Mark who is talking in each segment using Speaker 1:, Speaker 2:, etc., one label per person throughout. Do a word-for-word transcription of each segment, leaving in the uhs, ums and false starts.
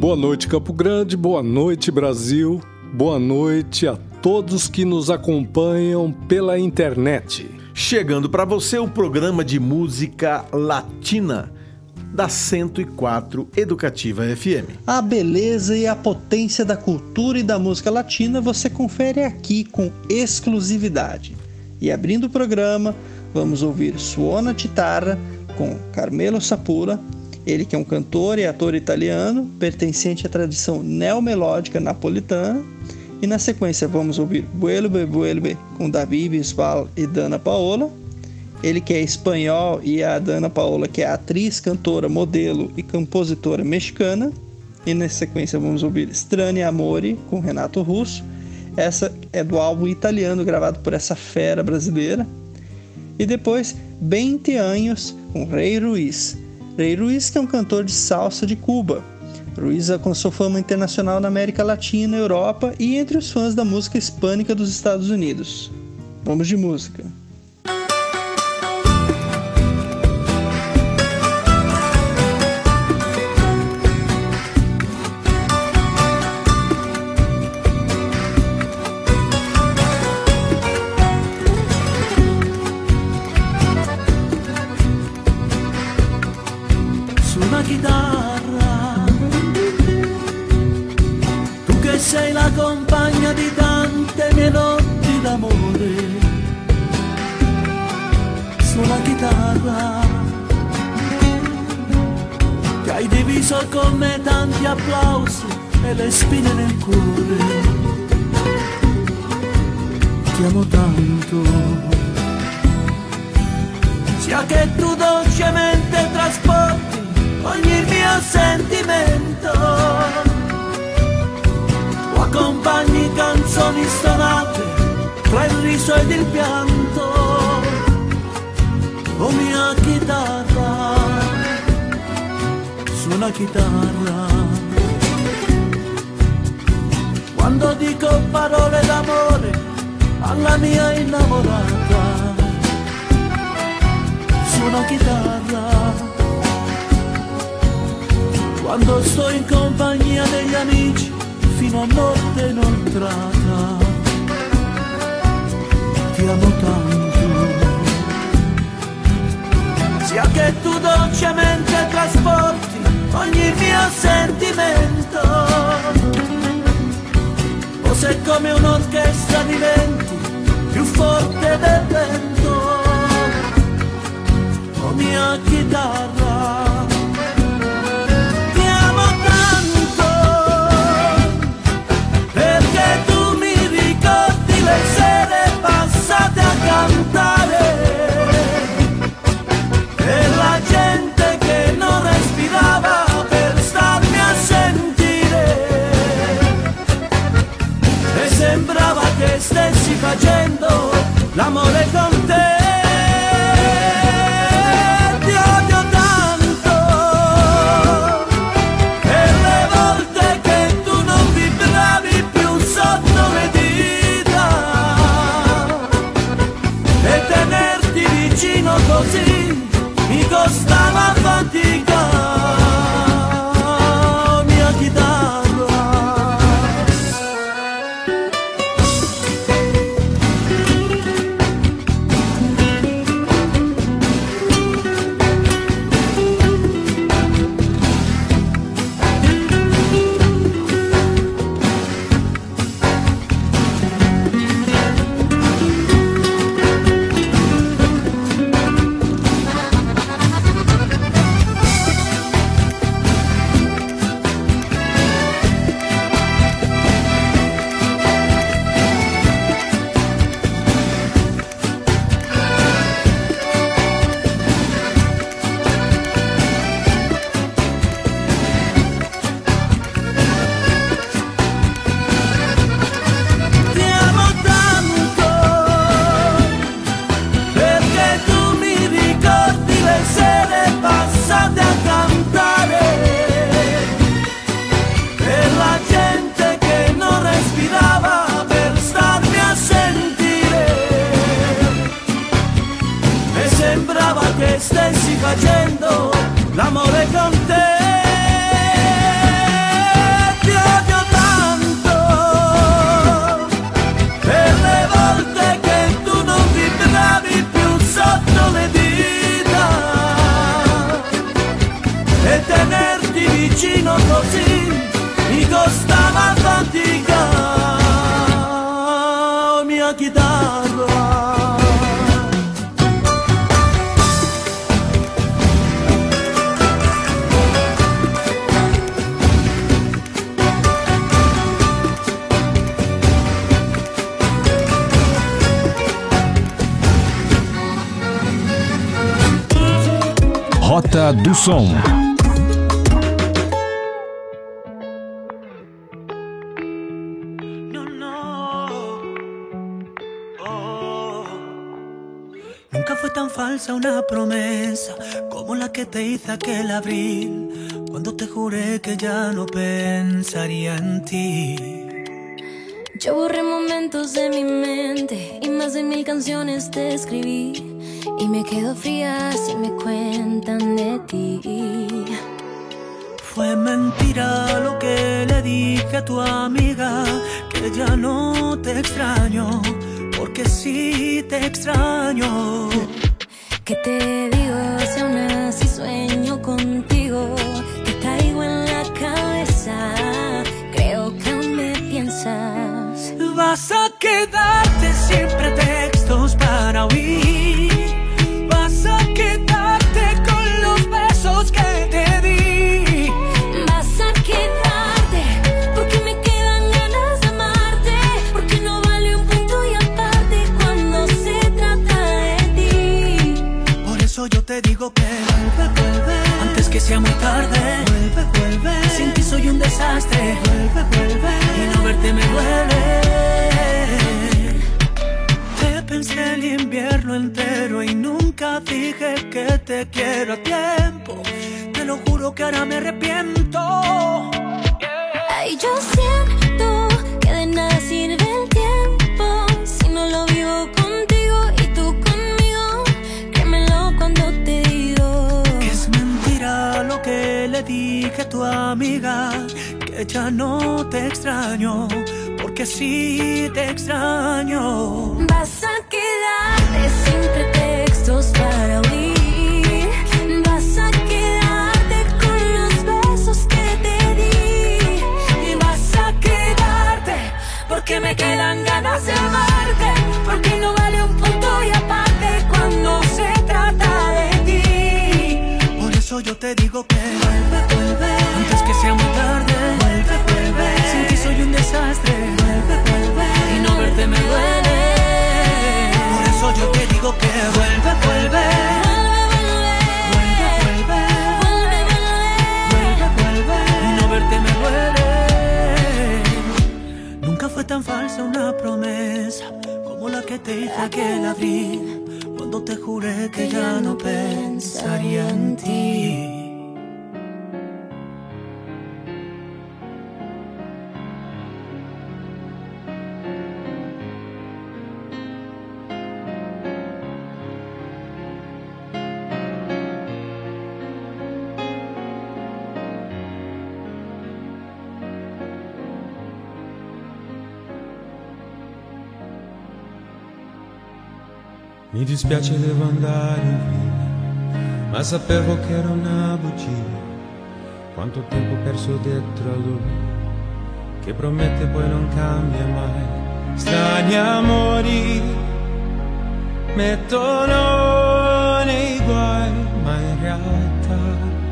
Speaker 1: Boa noite, Campo Grande, boa noite, Brasil, boa noite a todos que nos acompanham pela internet.
Speaker 2: Chegando para você o programa de música latina da cento e quatro Educativa F M.
Speaker 3: A beleza e a potência da cultura e da música latina você confere aqui com exclusividade. E abrindo o programa, vamos ouvir Suona Chitarra com Carmelo Sapura, ele que é um cantor e ator italiano, pertencente à tradição neomelódica napolitana. E na sequência vamos ouvir Vuelve, Vuelve com David Bisbal e Dana Paola, ele que é espanhol e a Dana Paola que é atriz, cantora, modelo e compositora mexicana. E na sequência vamos ouvir Strani Amore com Renato Russo, essa é do álbum italiano gravado por essa fera brasileira. E depois vinte anos com Rei Ruiz, Rei Ruiz que é um cantor de salsa de Cuba. Ruiz alcançou fama internacional na América Latina, Europa e entre os fãs da música hispânica dos Estados Unidos. Vamos de música.
Speaker 4: Suona chitarra, tu che sei la compagna di tante mie notti d'amore. Suona chitarra, che hai diviso con me tanti applausi e le spine nel cuore. Ti amo tanto, sia che tu dolcemente trasporti ogni mio sentimento, o accompagni canzoni stonate tra il riso ed il pianto. O mia chitarra, suona chitarra, quando dico parole d'amore alla mia innamorata. Suona chitarra, quando sto in compagnia degli amici fino a notte inoltrata. Ti amo tanto, sia che tu dolcemente trasporti ogni mio sentimento, o se come un'orchestra diventi più forte del vento. O mia chitarra, le sere passate a cantare e la gente che non respirava per starmi a sentire, e sembrava che stessi facendo l'amore con te. Ti odio tanto e le volte che tu non vibravi più sotto le dita, e tenerti vicino così mi costava fatica. Oh, mia chitarra. stava a faticare mia chitarra.
Speaker 5: Rota do Som.
Speaker 4: Nunca fue tan falsa una promesa como la que te hice aquel abril, cuando te juré que ya no pensaría en ti.
Speaker 6: Yo borré momentos de mi mente y más de mil canciones te escribí, y me quedo fría si me cuentan de ti.
Speaker 4: Fue mentira lo que le dije a tu amiga, que ya no te extraño, porque sí te extraño.
Speaker 6: ¿Qué te digo si aún así sueño contigo? Te caigo en la cabeza, creo que aún me piensas.
Speaker 4: Vas a quedarte sin pretextos para huir, vas a quedarte con los besos que te di,
Speaker 6: vas a quedarte porque me quedan ganas de amarte, porque no vale un punto y aparte cuando se trata de ti.
Speaker 4: Por eso yo te digo que vuelve, vuelve, antes que sea muy tarde. Vuelve, vuelve, sin ti soy un desastre. Vuelve, vuelve, y no verte me duele. Pensé el invierno entero y nunca dije que te quiero a tiempo. Te lo juro que ahora me arrepiento.
Speaker 6: Ay, yo siento que de nada sirve el tiempo si no lo vivo contigo y tú conmigo. Créemelo cuando te digo
Speaker 4: que es mentira lo que le dije a tu amiga, que ya no te extraño, porque sí te extraño.
Speaker 6: Vas a quedarte sin pretextos para huir, vas a quedarte con los besos que te di,
Speaker 4: y vas a quedarte porque me quedan ganas de amarte, porque no vale un punto y aparte cuando se trata de ti. Por eso yo te digo que vuelve, vuelve, antes que sea muy tarde. Vuelve, vuelve, sin ti soy un desastre. Vuelve, vuelve, y no verte me duele. Por eso yo te digo que vuelve, vuelve. Vuelve, vuelve, vuelve, vuelve, y no verte me duele. Nunca fue tan falsa una promesa como la que te hice aquel abril, cuando te juré que ya no pensaría en ti.
Speaker 7: Mi dispiace devo andare via, ma sapevo che era una bugia. Quanto tempo perso dietro a lui, che promette poi non cambia mai. Strani amori mettono nei guai, ma in realtà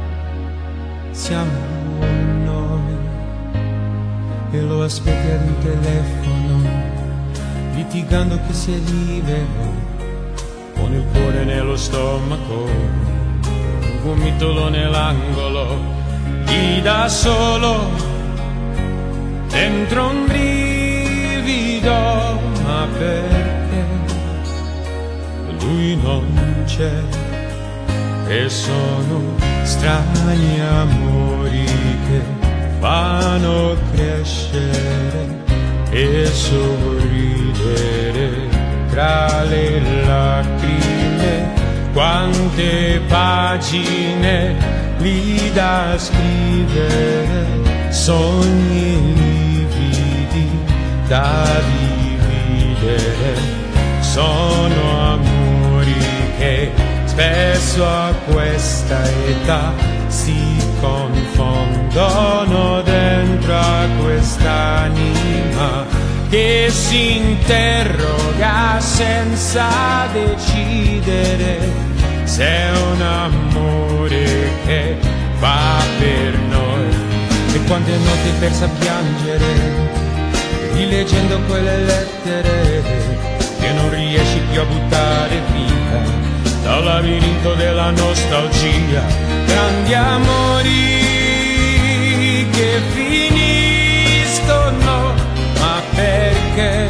Speaker 7: siamo noi. E lo aspetta al telefono, litigando che sia libero, con il cuore nello stomaco, un gomitolo nell'angolo, gli dà solo dentro un brivido, ma perché lui non c'è, e sono strani amori che fanno crescere e sorridere tra le lacrime. Quante pagine lì da scrivere, sogni lividi da dividere. Sono amori che spesso a questa età si confondono dentro a quest'anima che si interroga senza decidere se è un amore che va per noi. E quante notti persa a piangere, rileggendo quelle lettere che non riesci più a buttare via dal labirinto della nostalgia. Grandi amori che finiscono, ma perché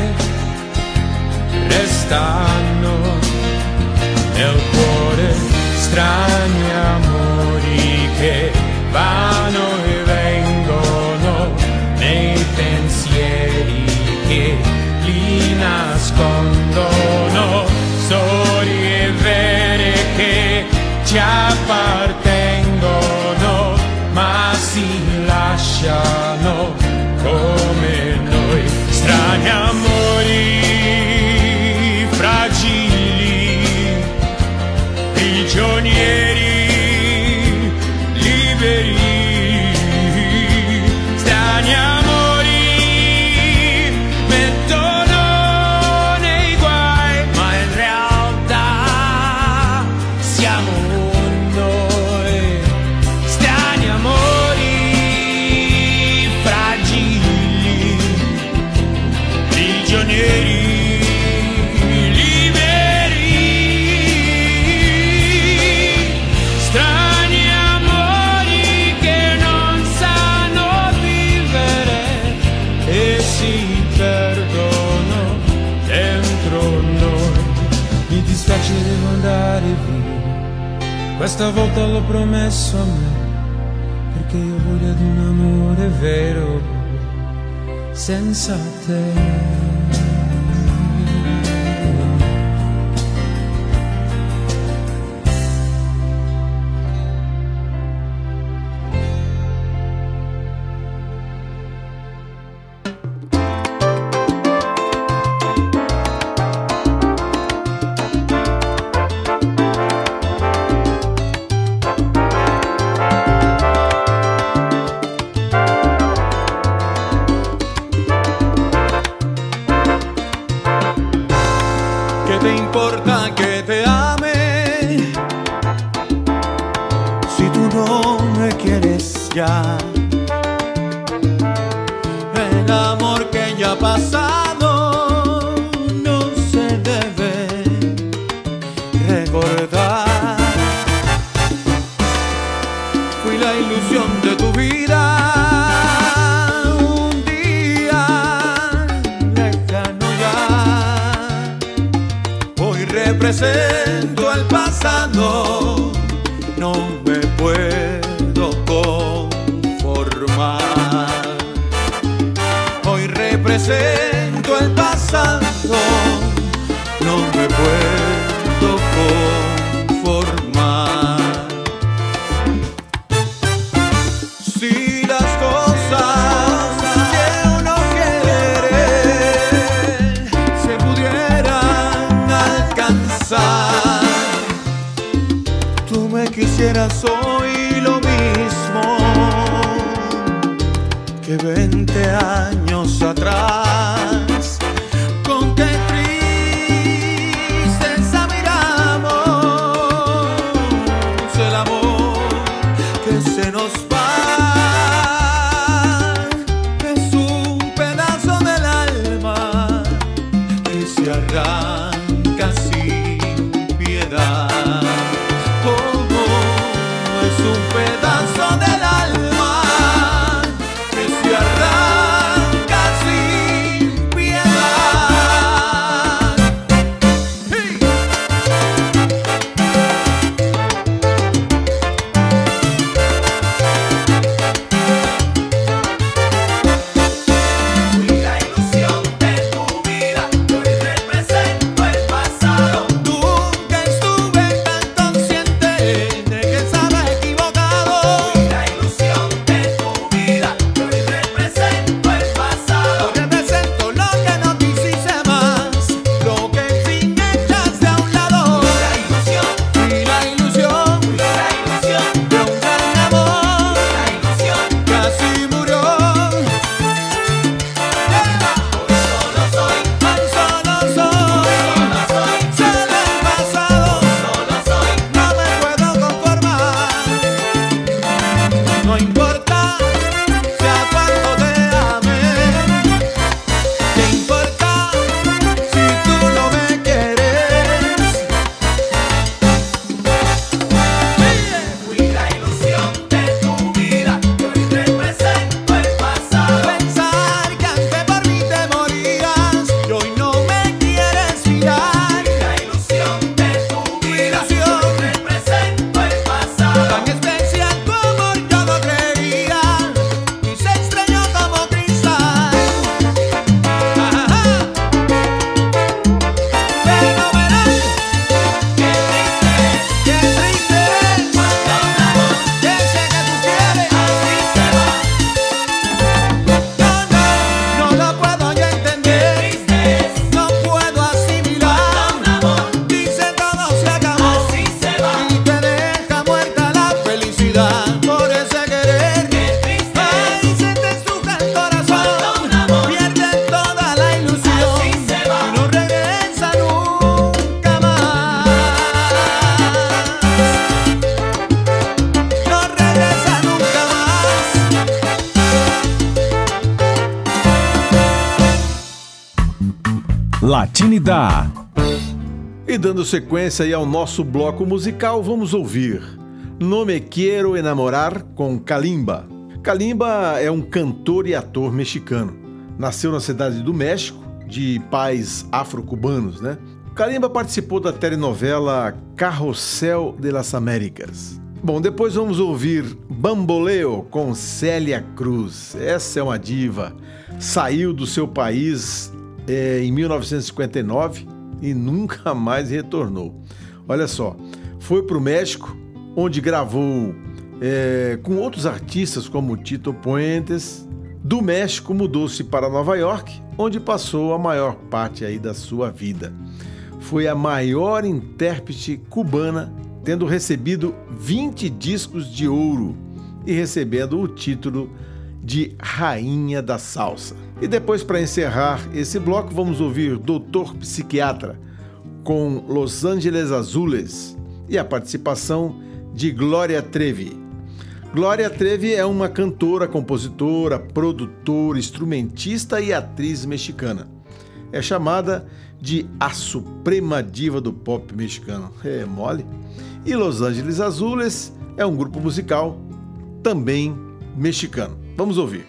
Speaker 7: restano nel cuore. Strani amori che vanno e vengono nei pensieri che li nascondono. Storie vere che ci appartengono, ma si lasciano come noi. Strani amori fragili, prigionieri liberi. Strani amori mettono nei guai, ma in realtà siamo noi. Strani amori fragili, prigionieri liberi. Strani amori che non sanno vivere e si perdono dentro noi. Mi dispiace, devo andare via, questa volta l'ho promesso a me, perché io voglio ad un amore vero senza te.
Speaker 8: ¿Qué te importa que te ame si tú no me quieres ya? El amor que ya ha pasado no se debe recordar. Fui la ilusión de tu vida, un día lejano ya. Hoy represento el pasado, no me puedo conformar. Hoy represento el pasado, no me puedo conformar. Si las cosas que uno quiere se pudieran alcanzar, tú me quisieras hoy lo mismo que veinte años atrás. Con qué tristeza miramos el amor que se nos va. Es un pedazo del alma que se arranca sin piedad. Como es un pedazo del alma que se arranca sin piedad. ¡Hey! Fui la ilusión de tu vida, hoy represento el pasado. Nunca estuve tan consciente de que estaba equivocado. Fui la ilusión
Speaker 5: Latinidad.
Speaker 2: E dando sequência aí ao nosso bloco musical, vamos ouvir No Me Quiero Enamorar com Kalimba. Kalimba é um cantor e ator mexicano. Nasceu na cidade do México, de pais afro-cubanos, né? Kalimba participou da telenovela Carrossel de las Américas. Bom, depois vamos ouvir Bamboleo com Célia Cruz. Essa é uma diva. Saiu do seu país é, em mil novecentos e cinquenta e nove e nunca mais retornou. Olha só, foi para o México, onde gravou é, com outros artistas como Tito Puentes. Do México mudou-se para Nova York, onde passou a maior parte aí da sua vida. Foi a maior intérprete cubana, tendo recebido vinte discos de ouro e recebendo o título de Rainha da Salsa. E depois, para encerrar esse bloco, vamos ouvir Doutor Psiquiatra com Los Angeles Azules e a participação de Glória Trevi. Glória Trevi é uma cantora, compositora, produtora, instrumentista e atriz mexicana. É chamada de a suprema diva do pop mexicano. É mole? E Los Angeles Azules é um grupo musical também mexicano. Vamos ouvir.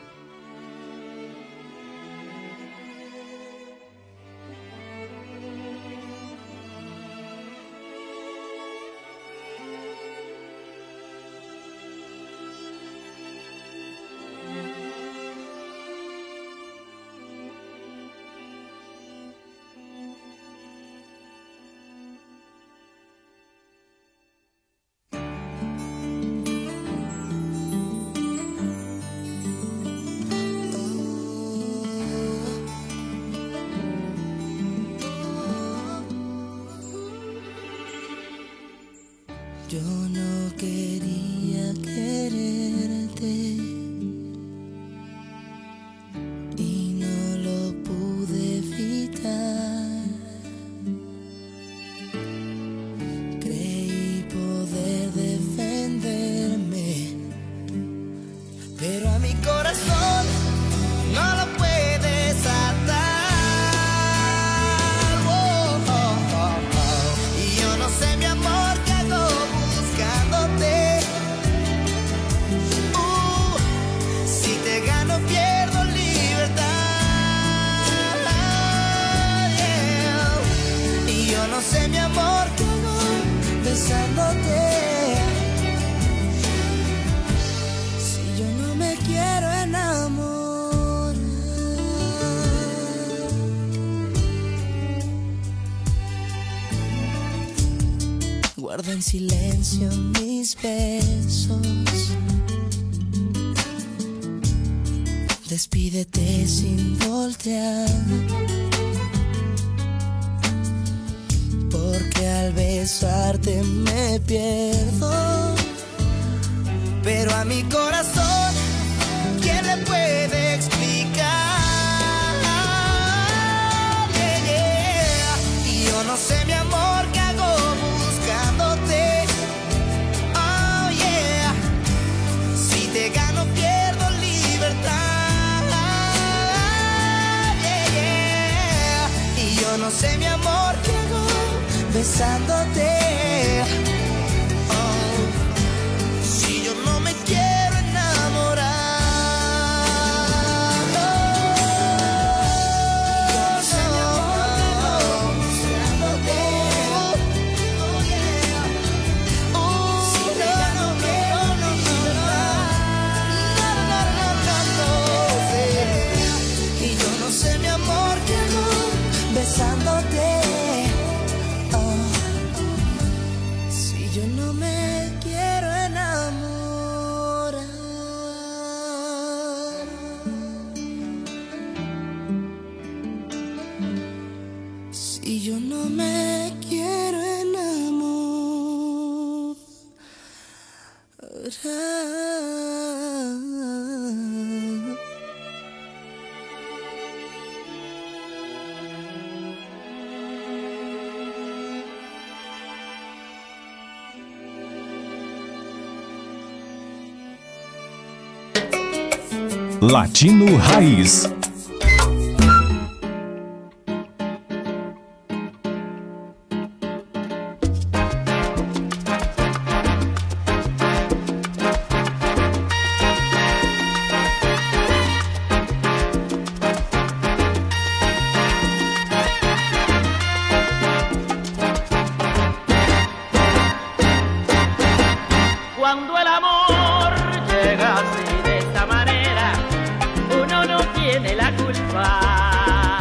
Speaker 6: Yo no quería quererte y no lo pude evitar. Creí poder defenderme, pero a mi corazón no lo puedes atar. Oh, oh, oh, oh. Y yo no sé, mi amor, no sé, mi amor, qué hago besándote. Si yo no me quiero enamorar, guarda en silencio mis besos. Despídete sin voltear, porque al besarte me pierdo. Pero a mi corazón, ¿quién le puede explicar? Yeah, yeah. Y yo no sé, mi amor, qué hago buscándote. Oh yeah, si te gano pierdo libertad. Yeah, yeah. Y yo no sé, mi amor, qué hago besándote. Oh, si yo no me quiero enamorar. Oh, yo no sé, mi amor, besándote. Oh, yeah. Oh, si te gano quiero no, no, no, no, no, no, no. Y yo no sé, mi amor, qué hago besándote. Yo no me quiero enamorar. Si yo no me quiero enamorar.
Speaker 5: Latino Raiz.
Speaker 9: el amor llega así de esta manera, uno no tiene la culpa.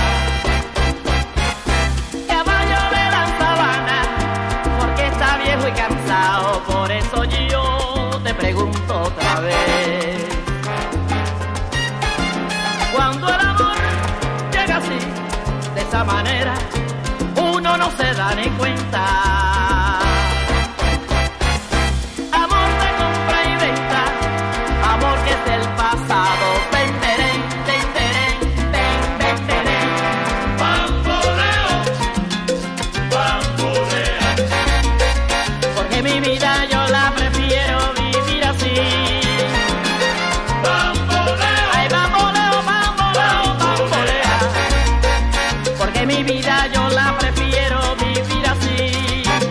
Speaker 9: Caballo de la sabana, porque está viejo y cansado, por eso yo te pregunto otra vez. Cuando el amor llega así, de esa manera, uno no se da ni cuenta. Amor de compra y venta, amor que es del pasado. Venderén, venderén, ven, venderén. Bamboleo, bambolea. Porque mi vida yo la prefiero vivir así. Bamboleo, ay, bamboleo, bamboleo, bambolea. Porque mi vida yo la prefiero vivir así.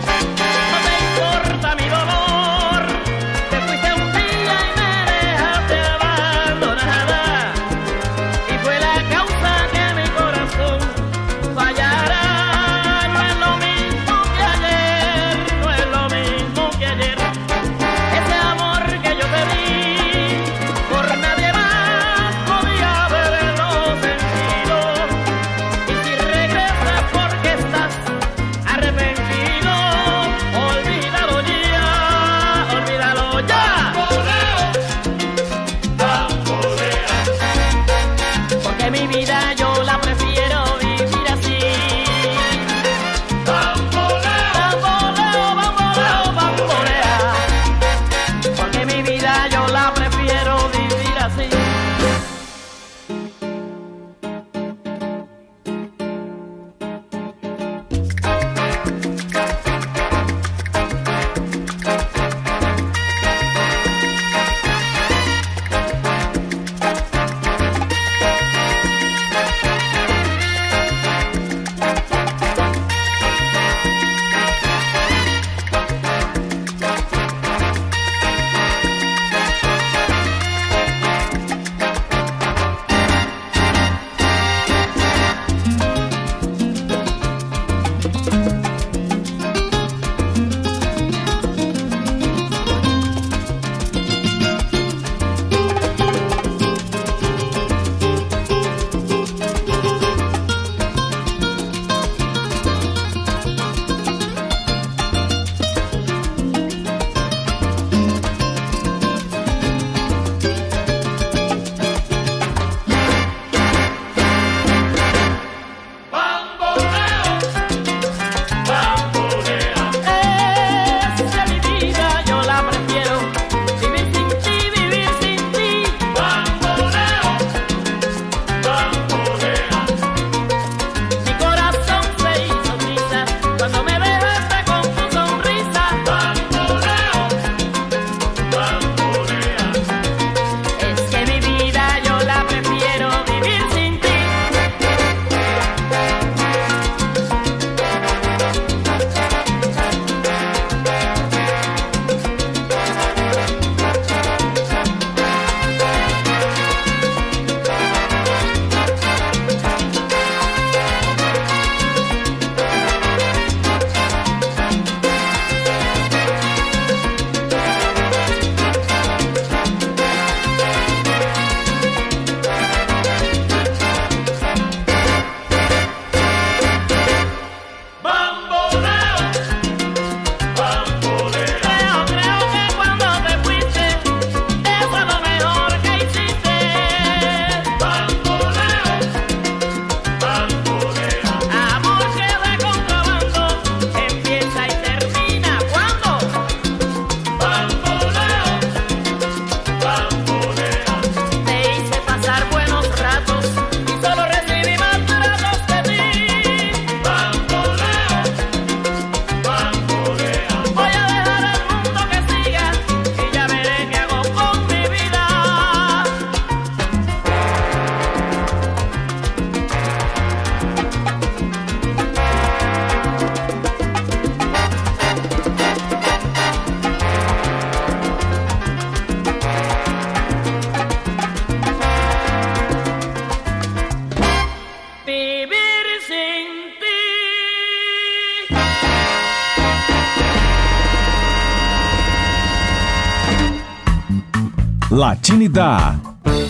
Speaker 5: Latinidad.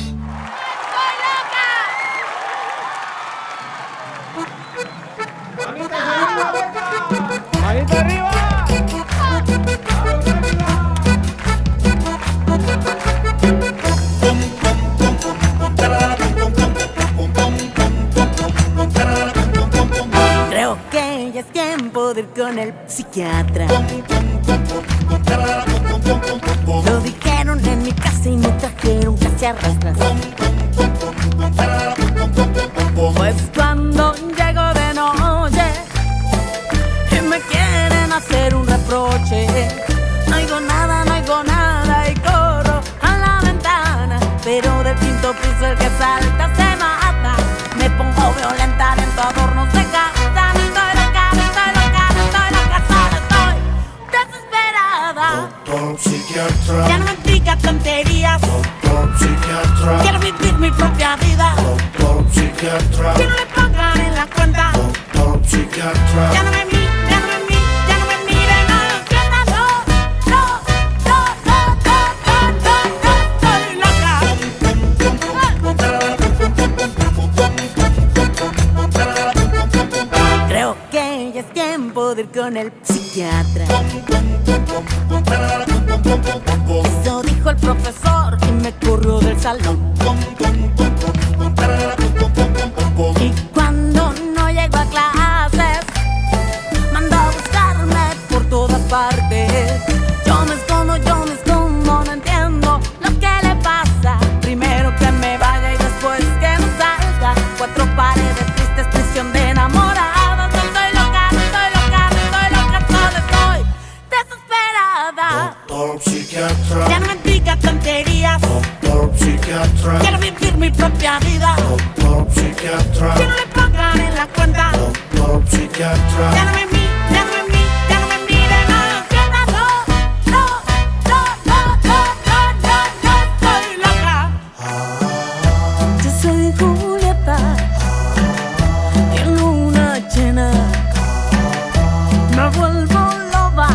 Speaker 4: Creo que ya es tiempo de ir con el psiquiatra. Lo dijeron en mi casa y me trajeron casi a rastras. Pues cuando llego de noche y me quieren hacer un reproche, no oigo nada, no oigo nada y corro a la ventana. Pero del quinto piso el que salta se mata. Me pongo violenta, lento, adornos de casa. Estoy loca, estoy loca, estoy loca, solo estoy desesperada.
Speaker 10: Doctor psiquiatra,
Speaker 4: Ya no me explica tonterías.
Speaker 10: doctor psiquiatra,
Speaker 4: Quiero vivir mi propia vida.
Speaker 10: doctor psiquiatra,
Speaker 4: Que no le pongan en la cuenta.
Speaker 10: doctor psiquiatra,
Speaker 4: Ya no me mire, ya no me mire, ya no me mire, no lo entienda, no, no, no, no, no, no, no, estoy loca. Creo que ya es tiempo de ir con el psiquiatra. Eso dijo el profesor y me corrió del salón. Y cuando no llego a clases, mando a buscarme por todas partes. Yo me escondo, yo me escondo, no entiendo lo que le pasa. Primero que me vaya y después que no salga. Cuatro paredes tristes, prisión de enamorados. No estoy loca, no estoy loca, no estoy loca, solo estoy desesperada.
Speaker 10: doctor psiquiatra,
Speaker 4: Ya no me explica tonterías.
Speaker 10: doctor psiquiatra,
Speaker 4: Quiero vivir mi propia vida.
Speaker 10: doctor psiquiatra,
Speaker 4: Que no le pongan en la cuenta.
Speaker 10: doctor psiquiatra,
Speaker 4: Ya no me mire, ya no me mire, ya no me mire, no lo entienda, no, no, no, no, no, no, no, no, estoy loca. Yo soy Julieta, en luna llena, me vuelvo loba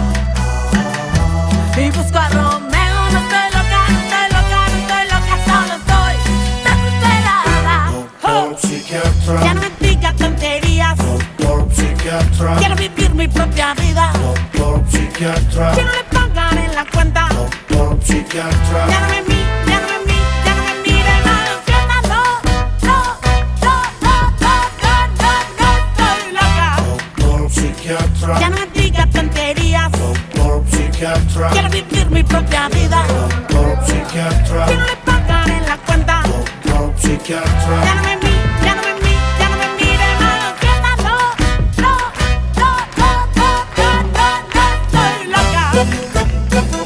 Speaker 4: y busco a Romeo. No estoy loca, no estoy loca, no estoy loca, solo estoy desesperada.
Speaker 10: doctor psiquiatra,
Speaker 4: Ya no me explica tonterías.
Speaker 10: doctor psiquiatra,
Speaker 4: Quiero vivir mi propia vida.
Speaker 10: doctor psiquiatra,
Speaker 4: Que no le pongan en la cuenta.
Speaker 10: doctor psiquiatra,
Speaker 4: Ya no me mire, ya no me mire, ya no me mire, no lo entienda, no, no, no, no, no, no, no, no, estoy loca.
Speaker 10: doctor psiquiatra,
Speaker 4: Ya no me diga tonterías.
Speaker 10: doctor psiquiatra,
Speaker 4: Quiero vivir mi propia vida.
Speaker 10: doctor psiquiatra,
Speaker 4: Que no le pongan en la cuenta.
Speaker 10: doctor psiquiatra,
Speaker 4: Ya no me mire, ya no me mire, ya no me mire, no lo entienda, no, no, no, no, no, no, no, no, estoy loca.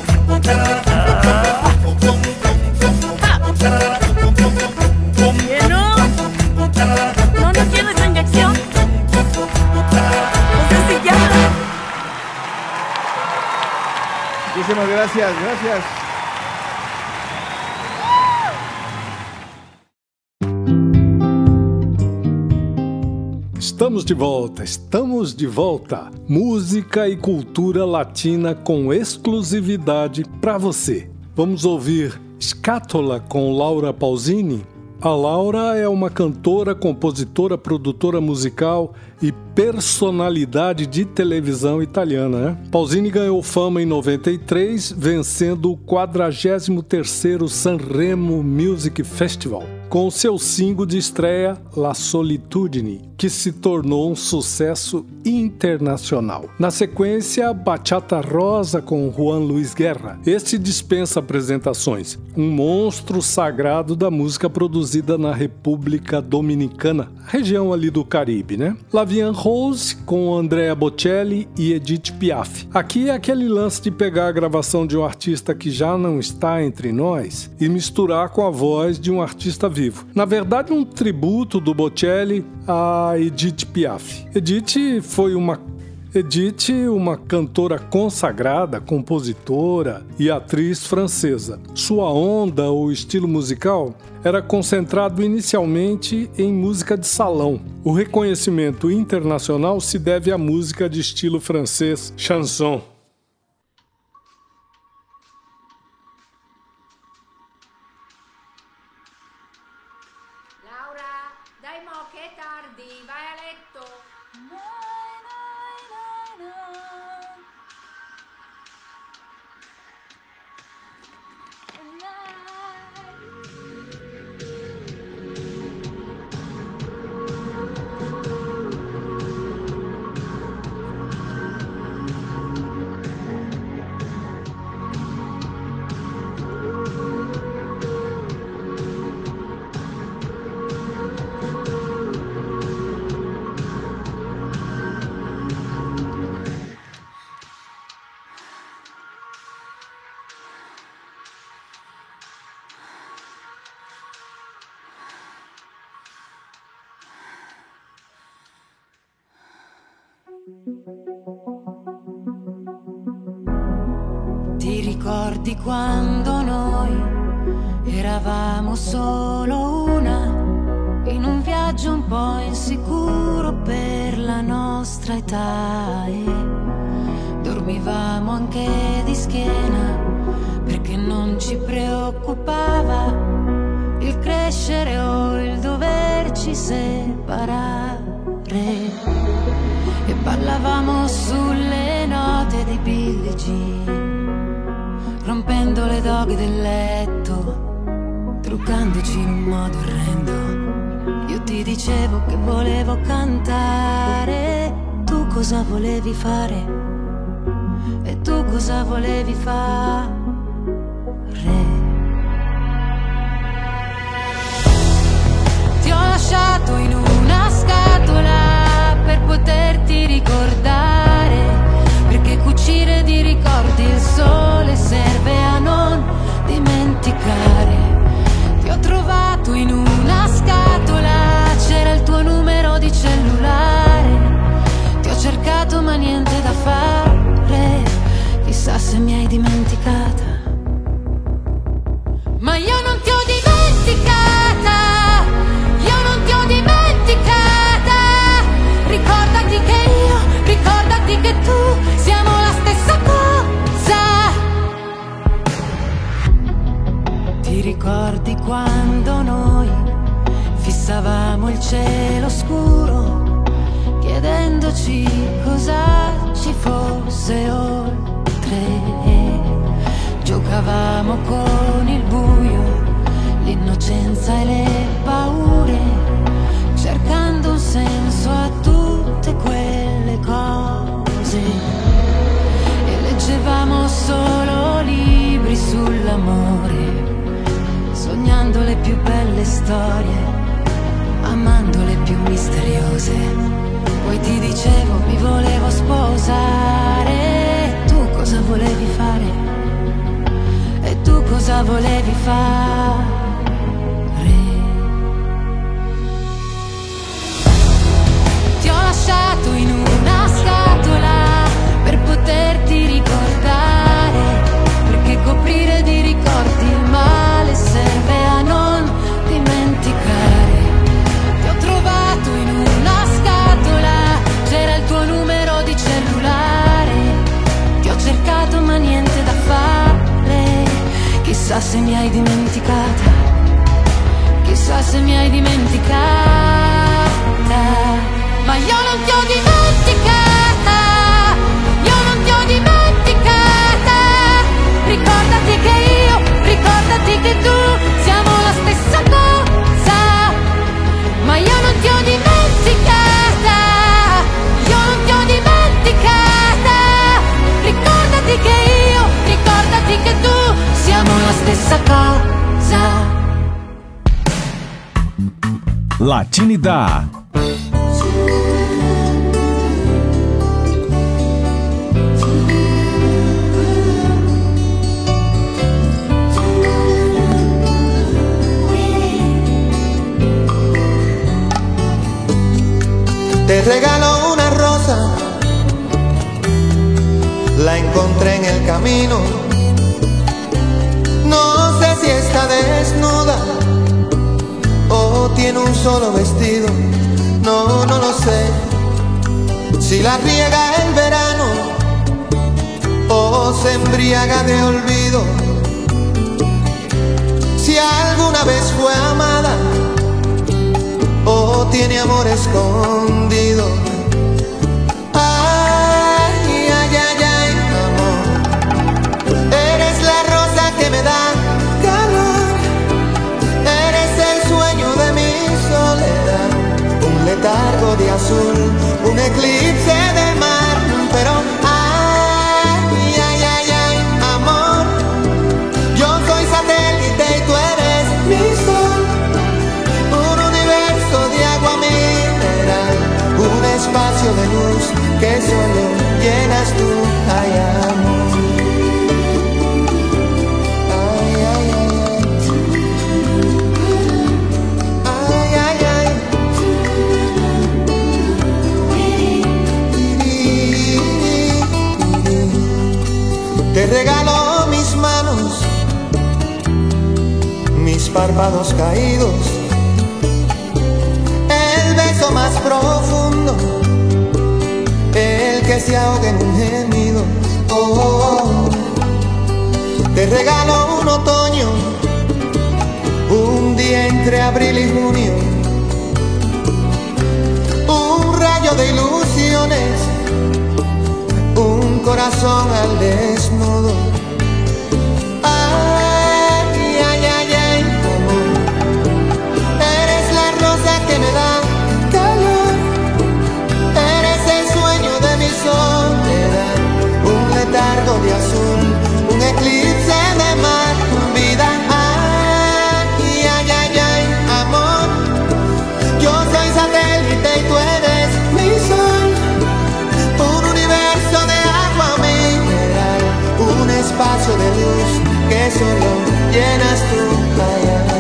Speaker 4: ¿Que no? No, no quiero esa inyección. No sé si ya.
Speaker 2: Muchísimas gracias, gracias.
Speaker 1: Estamos de volta, estamos de volta. Música e cultura latina com exclusividade para você. Vamos ouvir Scatola com Laura Pausini. A Laura é uma cantora, compositora, produtora musical e personalidade de televisão italiana, né? Pausini ganhou fama em noventa e três, vencendo o quadragésimo terceiro Sanremo Music Festival, com seu single de estreia La Solitudine, que se tornou um sucesso internacional. Na sequência, Bachata Rosa com Juan Luis Guerra. Este dispensa apresentações, um monstro sagrado da música produzida na República Dominicana, região ali do Caribe, né? La Vie en Rose com Andrea Bocelli e Edith Piaf. Aqui é aquele lance de pegar a gravação de um artista que já não está entre nós e misturar com a voz de um artista vivo. Na verdade, um tributo do Bocelli a Edith Piaf. Edith foi uma Edith, uma cantora consagrada, compositora e atriz francesa. Sua onda ou estilo musical era concentrado inicialmente em música de salão. O reconhecimento internacional se deve à música de estilo francês, chanson.
Speaker 11: è tardi, vai a letto.
Speaker 6: Ti ricordi quando noi eravamo solo una, in un viaggio un po' insicuro per la nostra età, e dormivamo anche di schiena perché non ci preoccupava il crescere o il doverci separare, e ballavamo sulle note di Billie Jean, rompendo le doghe del letto, truccandoci in un modo orrendo. Io ti dicevo che volevo cantare, tu cosa volevi fare? E tu cosa volevi fare? Ti ho lasciato in una scatola per poterti ricordare, perché cucire di ricordi il sole serve a non dimenticare. Ti ho trovato in una scatola, c'era il tuo numero di cellulare. Ti ho cercato ma niente da fare, chissà se mi hai dimenticata. Ma io non ti ho dimenticata, io non ti ho dimenticata. Ricordati che io, ricordati che tu siamo la stessa cosa. Ti ricordi quando noi fissavamo il cielo scuro, chiedendoci cosa ci fosse oltre? Giocavamo con il buio, l'innocenza e le paure, cercando un senso a tutte quelle cose, e leggevamo solo libri sull'amore, sognando le più belle storie, amando le più misteriose. Poi ti dicevo mi volevo sposare, tu cosa volevi fare? E tu cosa volevi fare? Ti ho lasciato in una scatola per poterti ricordare, perché coprire di ricordi il male serve a non dimenticare. Ti ho trovato in una scatola, c'era il tuo numero di cellulare. Ti ho cercato ma niente da fare, chissà se mi hai dimenticata, chissà se mi hai dimenticata. Ma io non ti ho dimenticata, io non ti ho dimenticata. Ricordati che io, ricordati che tu siamo la stessa cosa. Ma io non ti ho dimenticata, io non ti ho dimenticata. Ricordati che io, ricordati che tu siamo la stessa cosa.
Speaker 5: Latinidad.
Speaker 12: Te regalo una rosa, la encontré en el camino. No sé si está desnuda o tiene un solo vestido. No, no lo sé. Si la riega el verano o se embriaga de olvido. Si alguna vez fue amada o o tiene amor escondido. Ay, ay, ay, ay, amor, eres la rosa que me da calor, eres el sueño de mi soledad, un letargo de azul, un eclipse de mar, pero ay, ay, ay, ay, amor, yo soy satélite y tú eres mi sol, un universo de agua mineral, un espacio de luz que solo llenas tú, ay, amor. Ay, ay, ay, ay, ay, ay. Te regalo mis manos, mis párpados caídos, el beso más profundo, el que se ahoga en un gemido. Oh, oh, oh. Te regalo un otoño, un día entre abril y junio, un rayo de ilusiones, un corazón al desnudo. Ay, ay, ay, ay, amor, eres la rosa que me da calor, eres el sueño de mi soledad, un letargo de azul, un eclipse de mar, vida. Ay, ay, ay, ay, amor, yo soy satélite y tú eres mi sol, un universo de agua mineral, un espacio de luz que solo llenas tú, ay, ay.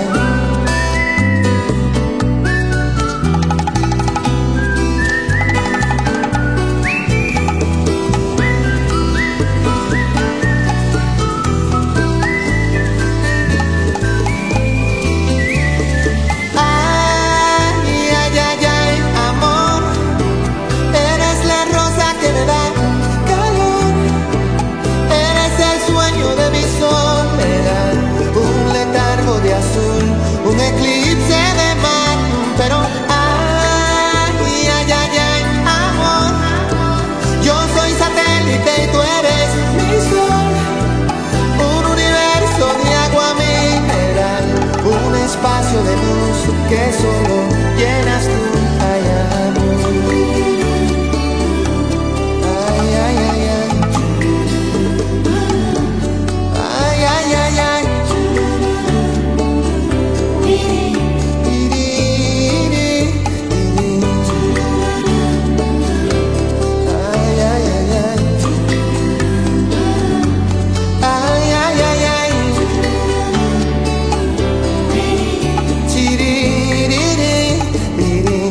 Speaker 12: Ay, ay, ay, ay, amor, eres la rosa que me da calor, eres el sueño de mi soledad, un letargo de azul, un eclipse de mar, pero ay, ay, ay, ay, amor, yo soy satélite y tú eres mi sol, un universo de agua mineral, un espacio de luz que solo llenas tú, ay, amor. Ay, ay, ay, ay. Ay, ay, ay, ay. Iri, iri, iri. Ay, ay, ay, ay. Ay, ay, ay, ay. Chiririri, iri.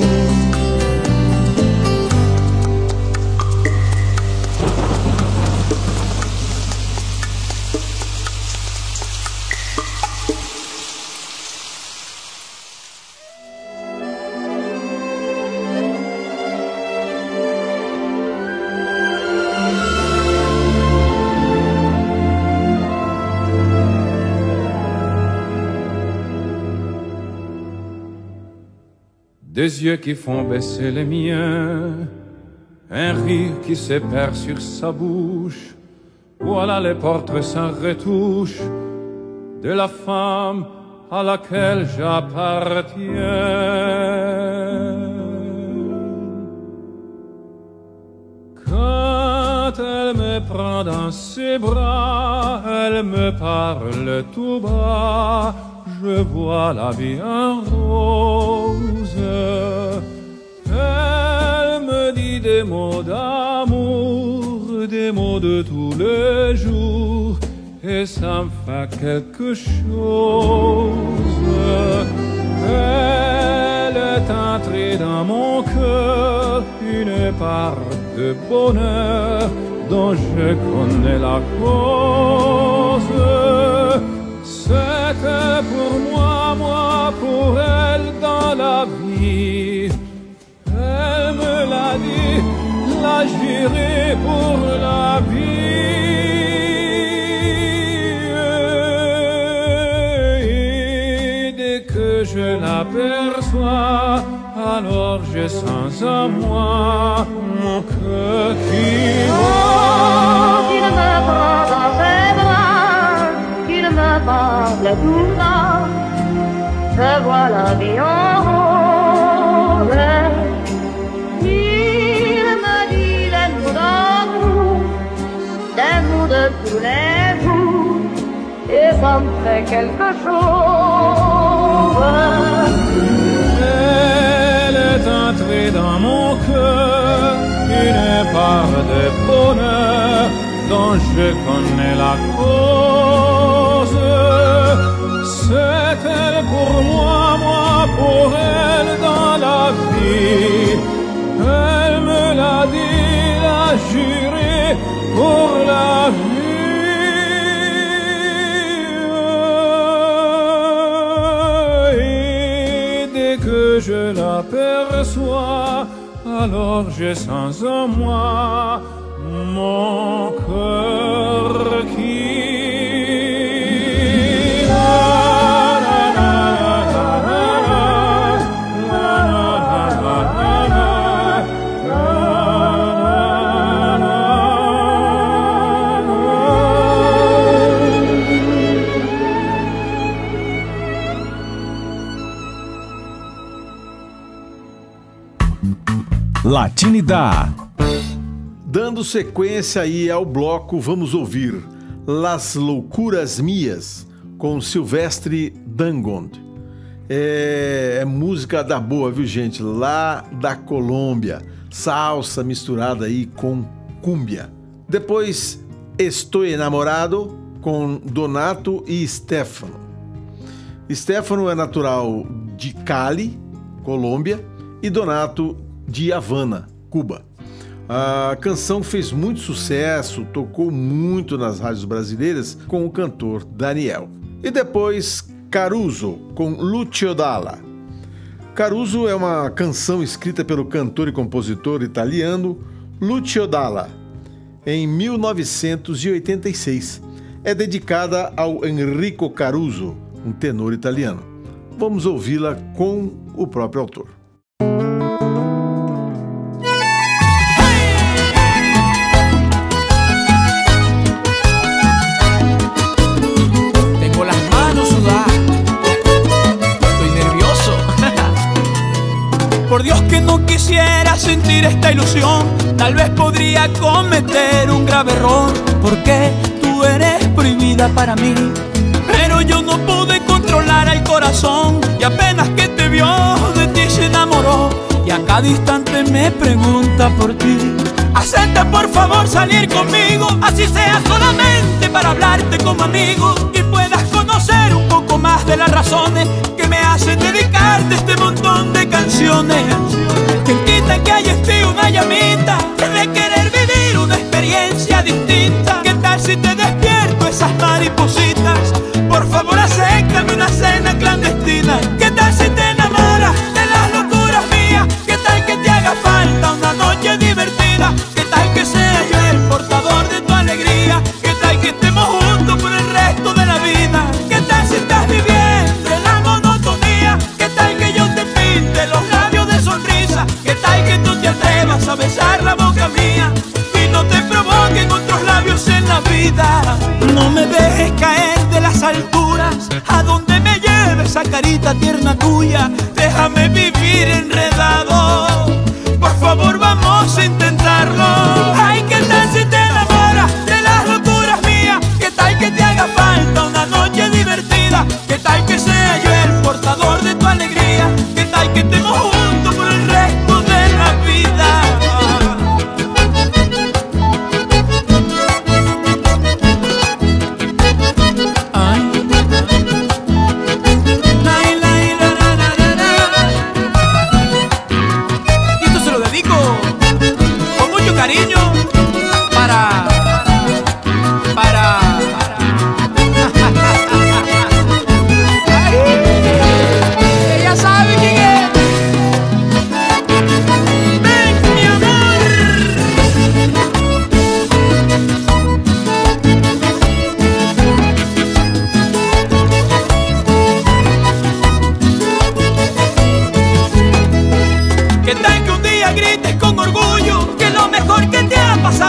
Speaker 7: Des yeux qui font baisser les miens, un rire qui se perd sur sa bouche. Voilà les portraits sans retouche de la femme à laquelle j'appartiens. Quand elle me prend dans ses bras, elle me parle tout bas, je vois la vie en rose. Elle me dit des mots d'amour, des mots de tous les jours, et ça me fait quelque chose. Elle est entrée dans mon cœur, une part de bonheur dont je connais la cause. C'était pour moi, moi pour elle dans la vie. Elle me l'a dit, l'a juré pour la vie. Et dès que je l'aperçois, alors j'ai sans à moi mon cœur qui
Speaker 13: Oh, qu'il me prend dans ses bras, qu'il me parle tout bas, je vois la vie en rose. Il me dit des mots d'amour, des mots de tous les jours, et ça me fait quelque chose.
Speaker 7: Elle est entrée dans mon cœur, une part de bonheur dont je connais la cause. C'est elle pour moi, moi pour elle dans la vie. Elle me l'a dit, l'a juré pour la vie. Et dès que je l'aperçois, alors je sens en moi mon cœur qui
Speaker 5: Latinidade.
Speaker 2: Dando sequência aí ao bloco, vamos ouvir Las Loucuras Mias, com Silvestre Dangond. É, é música da boa, viu, gente? Lá da Colômbia. Salsa misturada aí com cúmbia. Depois, Estou Enamorado, com Donato e Stefano. Stefano é natural de Cali, Colômbia, e Donato de Havana, Cuba. A canção fez muito sucesso, tocou muito nas rádios brasileiras com o cantor Daniel. E depois, Caruso, com Lucio Dalla. Caruso é uma canção escrita pelo cantor e compositor italiano Lucio Dalla, em mil novecentos e oitenta e seis. É dedicada ao Enrico Caruso, um tenor italiano. Vamos ouvi-la com o próprio autor.
Speaker 8: Por Dios que no quisiera sentir esta ilusión, tal vez podría cometer un grave error, porque tú eres prohibida para mí. Pero yo no pude controlar el corazón, y apenas que te vio de ti se enamoró, y a cada instante me pregunta por ti. Acepta por favor salir conmigo, así sea solamente para hablarte como amigo, y puedas conocer un poco más de las razones que me hacen dedicarte este montón de canciones. Quien quita que haya en ti una llamita de querer vivir una experiencia distinta. ¿Qué tal si te despierto esas maripositas? Por favor acéptame una cena clandestina. ¿Qué tal si te enamoras de las locuras mías? ¿Qué tal que te haga falta una noche divertida? ¿Qué tal que sea yo el portador de tu alegría? ¿Qué tal que estemos juntos por el resto de la vida? ¿Qué tal si estás viviendo en la monotonía? ¿Qué tal que yo te pinte los labios de sonrisa? ¿Qué tal que tú te atrevas a besar la boca mía y no te provoquen otros labios en la vida? No me dejes caer de las alturas, a donde me lleve esa carita tierna tuya. Déjame vivir enredado, por favor vamos a intentarlo. Ay, ¿qué tal si te enamoras de las locuras mías? ¿Qué tal que te haga falta una noche divertida? ¿Qué tal que sea yo el portador de tu alegría? ¿Qué tal que estemos juntos por el resto de la vida?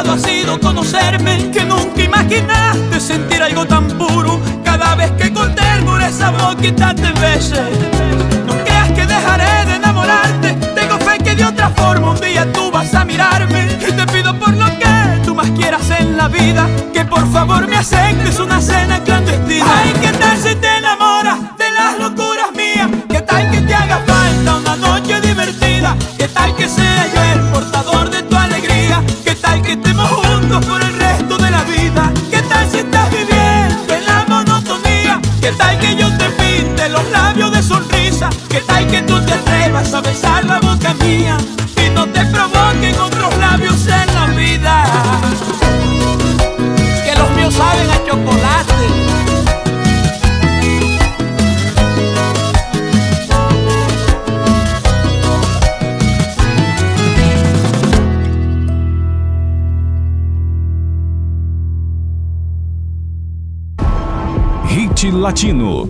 Speaker 8: pecado ha sido conocerme, que nunca imaginaste sentir algo tan puro. Cada vez que con ternura esa boquita te bese, no creas que dejaré de enamorarte. Tengo fe que de otra forma un día tú vas a mirarme. Y te pido por lo que tú más quieras en la vida, que por favor me aceptes una cena clandestina. Ay, ¿qué tal si te enamoras de las locuras mías? ¿Qué tal que te haga falta una noche divertida? ¿Qué tal que sea yo el portador de tu alegría? ¿Qué tal que estemos juntos por el resto de la vida? ¿Qué tal si estás viviendo en la monotonía? ¿Qué tal que yo te pinte los labios de sonrisa? ¿Qué tal que tú te atrevas a besar la boca mía y no te provoquen otros labios en la vida? Que los míos saben a chocolate.
Speaker 5: Hit Latino.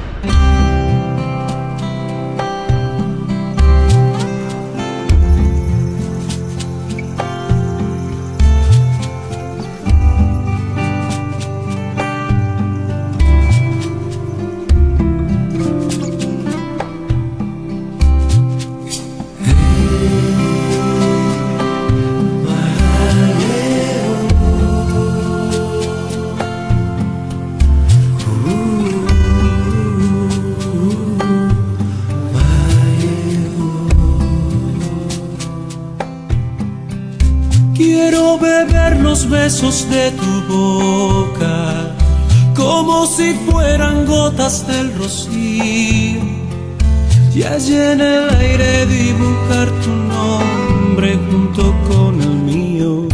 Speaker 14: Besos de tu boca, como si fueran gotas del rocío, y allí en el aire dibujar tu nombre junto con el mío,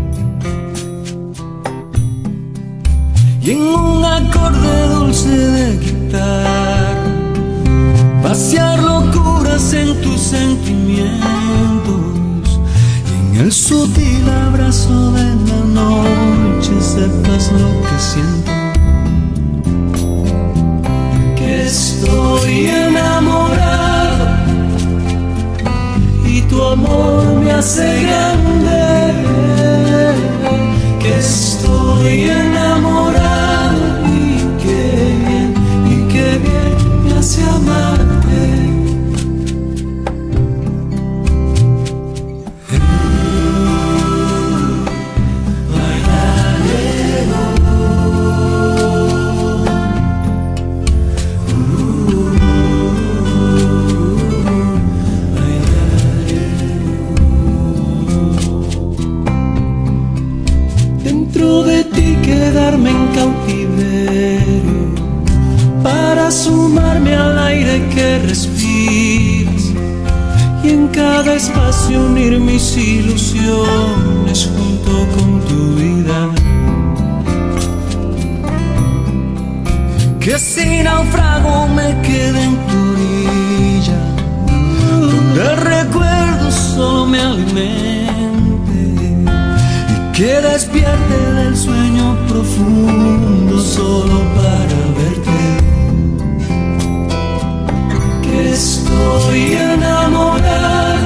Speaker 14: y en un acorde dulce de guitarra vaciar locuras en tus sentimientos. El sutil abrazo de la noche, sepas lo que siento, que estoy enamorado y tu amor me hace grande, que estoy enamorado y que bien, y que bien me hace amarte. Quedarme en cautiverio para sumarme al aire que respiras y en cada espacio unir mis ilusiones junto con tu vida. Que si naufrago me quede en tu orilla, donde el recuerdo solo me alimente, que despierte del sueño profundo solo para verte, que estoy enamorado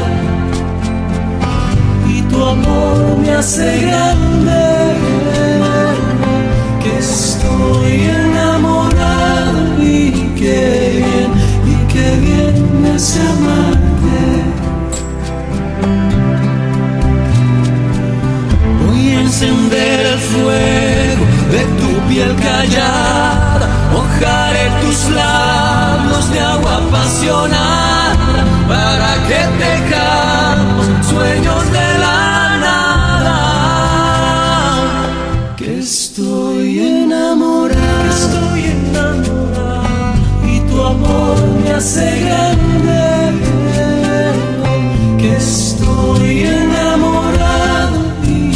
Speaker 14: y tu amor me hace grande, que estoy enamorado y que bien, y que bien me hace amarte. Encender el fuego de tu piel callada, mojaré tus labios de agua apasionada para que tejamos sueños de la nada. Que estoy enamorado, que estoy enamorado y tu amor me hace grande, que estoy enamorado.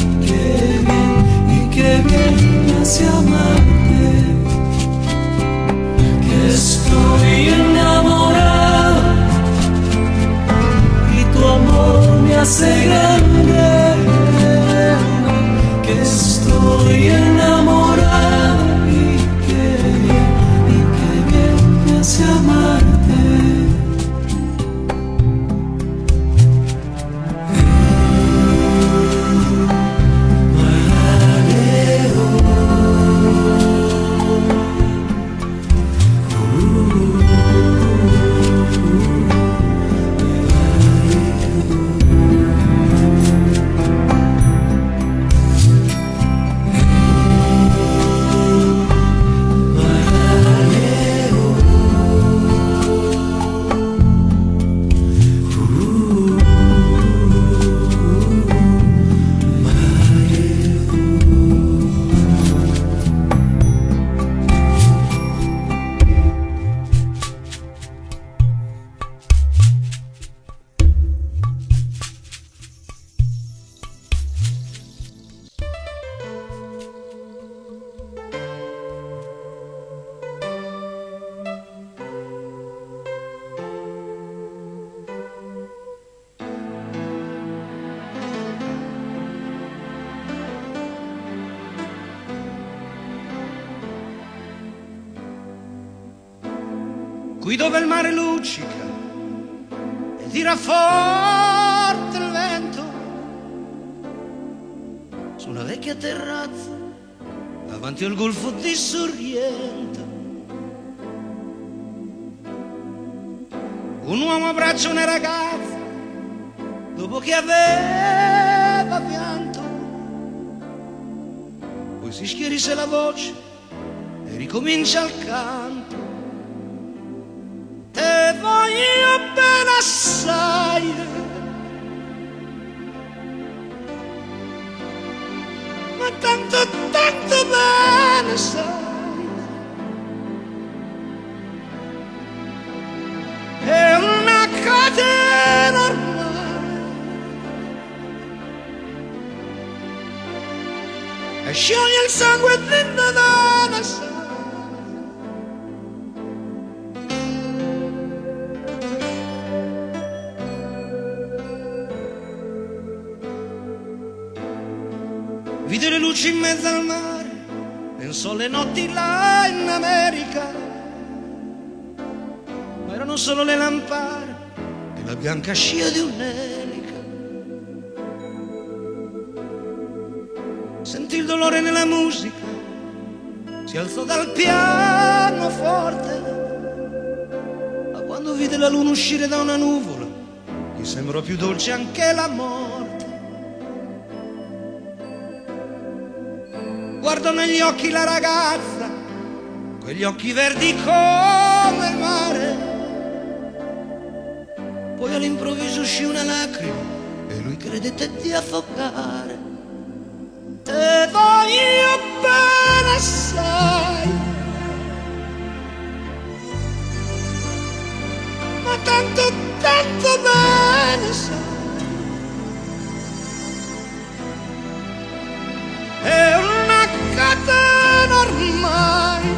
Speaker 14: Que bien me hace amarte, que estoy enamorado
Speaker 15: qui dove il mare luccica e tira forte il vento, su una vecchia terrazza davanti al golfo di Sorrento. Un uomo abbraccia una ragazza dopo che aveva pianto, poi si schierisse la voce e ricomincia il canto. Te voglio bene assai, ma tanto, tanto bene sai. È una catena ormai e scioglie il sangue dentro da una sai. Vide le luci in mezzo al mare, pensò alle notti là in America, ma erano solo le lampade e la bianca scia di un'elica. Sentì il dolore nella musica, si alzò dal pianoforte, ma quando vide la luna uscire da una nuvola, gli sembrò più dolce anche la morte. Guardò negli occhi la ragazza, quegli occhi verdi come il mare. Poi all'improvviso uscì una lacrima e lui credette di affogare. Te voglio bene assai, ma tanto, tanto bene sai. È una catena ormai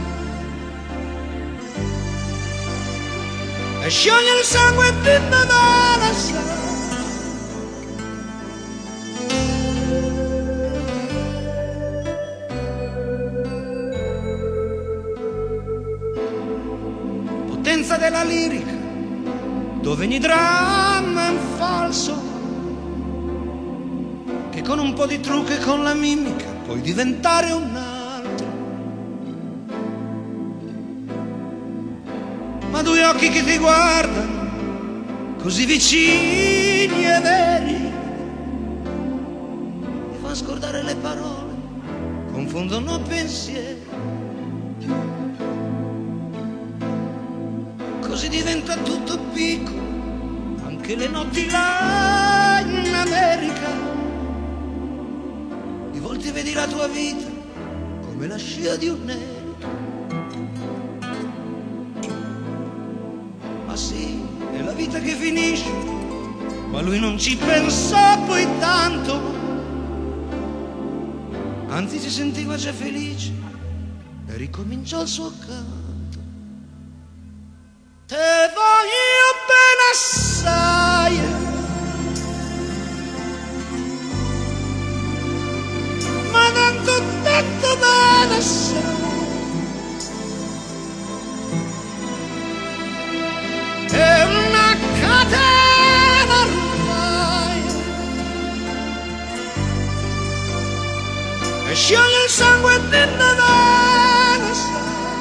Speaker 15: e scioglie il sangue di Nadala sai. Potenza della lirica, dove ogni dramma è un falso, che con un po' di trucco e con la mimica puoi diventare un altro. Ma due occhi che ti guardano così vicini e veri ti fanno scordare le parole, confondono pensieri. Così diventa tutto piccolo, anche le notti là in America. Di volte vedi la tua vita come la scia di un'elica. Ma sì, è la vita che finisce, ma lui non ci pensò poi tanto, anzi si sentiva già felice e ricominciò il suo canto. Te voglio bene assai, ma tanto, tanto bene assai. È una catena ormai e scioglie il sangue dentro bene assai.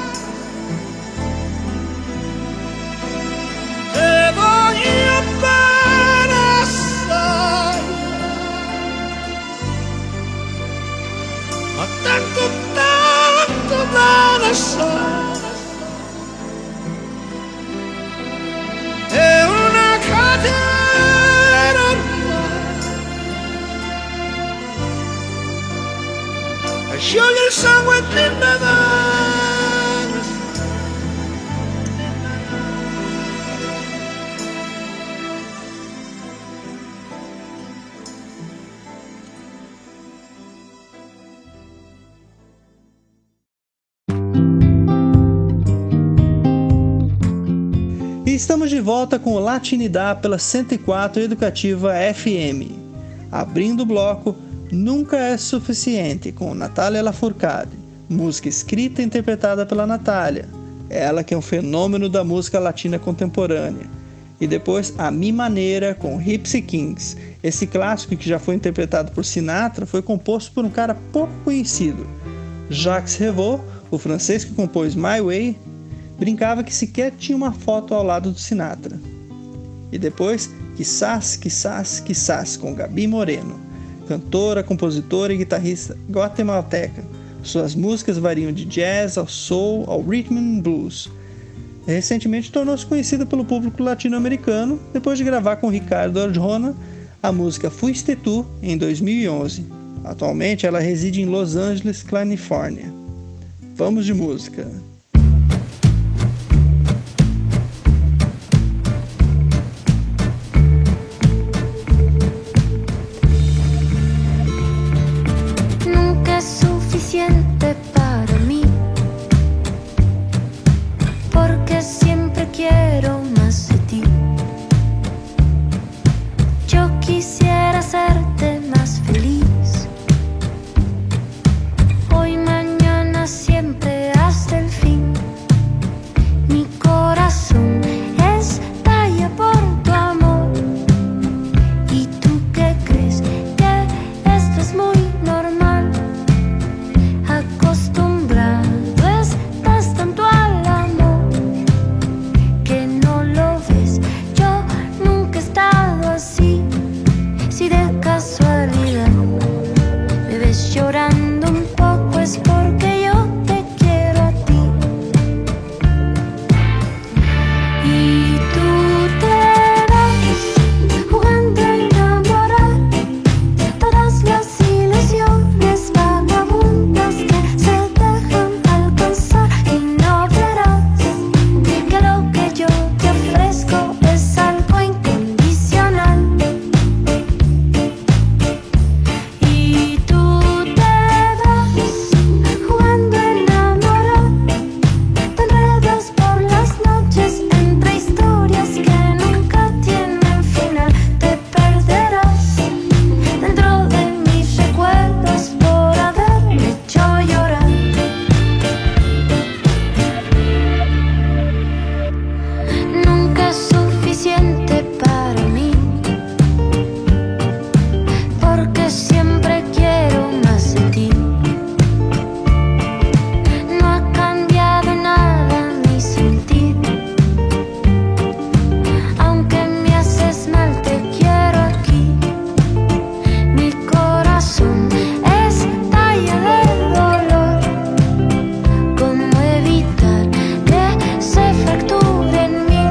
Speaker 15: Te voglio bene assai, ma tanto, tanto bene assai. È una catena ormai e scioglie il sangue dentro bene assai.
Speaker 3: E estamos de volta com o Latinidade pela cento e quatro Educativa F M. Abrindo o bloco Nunca é Suficiente, com Natália Lafourcade. Música escrita e interpretada pela Natália. ela que é um fenômeno da música latina contemporânea. E depois A Mi Maneira com Gypsy Kings. Esse clássico, que já foi interpretado por Sinatra, foi composto por um cara pouco conhecido. Jacques Revaux, o francês que compôs My Way, brincava que sequer tinha uma foto ao lado do Sinatra. E depois Quizás, Quizás, Quizás com Gabi Moreno, cantora, compositora e guitarrista guatemalteca. Suas músicas variam de jazz ao soul ao rhythm and blues. Recentemente tornou-se conhecida pelo público latino-americano depois de gravar com Ricardo Arjona a música Fuiste Tu em dois mil e onze. Atualmente ela reside em Los Angeles, Califórnia. Vamos de música.
Speaker 6: Nunca es suficiente para mí, porque siempre quiero más de ti. Yo quisiera hacerte más feliz, hoy, mañana, siempre hasta el fin. Mi corazón estalla por tu amor. ¿Y tú qué crees? Que esto es muy normal. Acostumbrado estás tanto al amor que no lo ves. Yo nunca he estado así. Si de casualidad me ves llorando un poco, es porque yo te quiero a ti. Y tú te vas jugando a enamorar todas las ilusiones vagabundas que se dejan alcanzar, y no verás que lo que yo te ofrezco es algo incondicional. Y tú te vas jugando a enamorar, te enredas por las noches entre historias que nunca tienen final. Te perderás dentro de mis recuerdos por haberme hecho llorar. Nunca es suficiente para mí, porque siempre quiero más de ti. No ha cambiado nada mi sentir, aunque me haces mal, te quiero aquí. Mi corazón estalla de dolor. ¿Cómo evitar que se fracture en mí?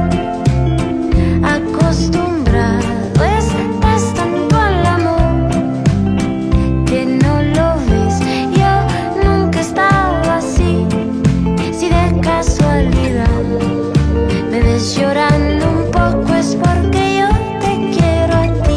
Speaker 6: Acostumbrado estás tanto al amor que no lo ves. Yo nunca he estado así. Si de casualidad me ves llorando un poco, es porque yo te quiero a ti.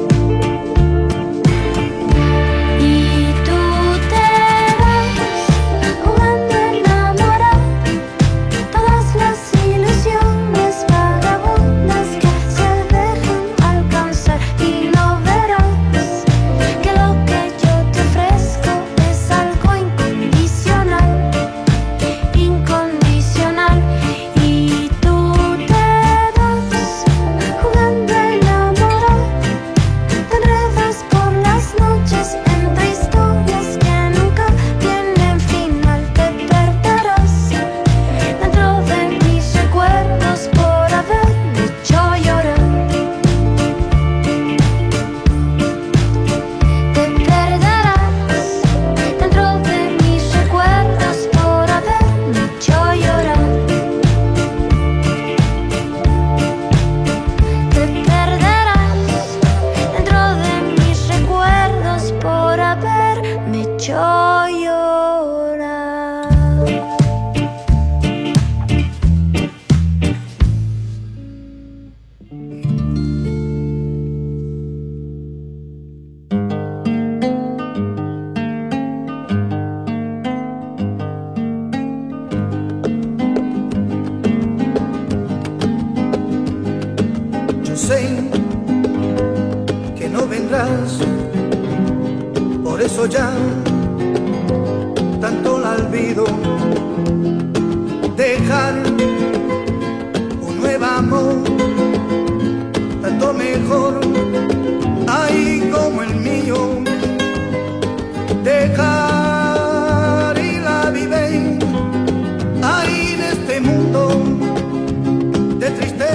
Speaker 6: Y tú te vas jugando a enamorar todas las ilusiones vagabundas que se dejan alcanzar, y no verás que lo que yo te ofrezco es algo incondicional, incondicional. Y tú te vas jugando a enamorar, te enredas por las noches entre historias que nunca tienen final. Te perderás dentro de mis recuerdos por haberme hecho llorar. Te perderás dentro de mis recuerdos por haberme hecho llorar. Te perderás dentro de mis recuerdos por haberme hecho llorar.
Speaker 15: Yo sé que no vendrás, por eso ya tanto la olvido. Deja dejar un nuevo amor, tanto mejor, ahí como el mío. Dejar y la vive ahí en este mundo de tristeza.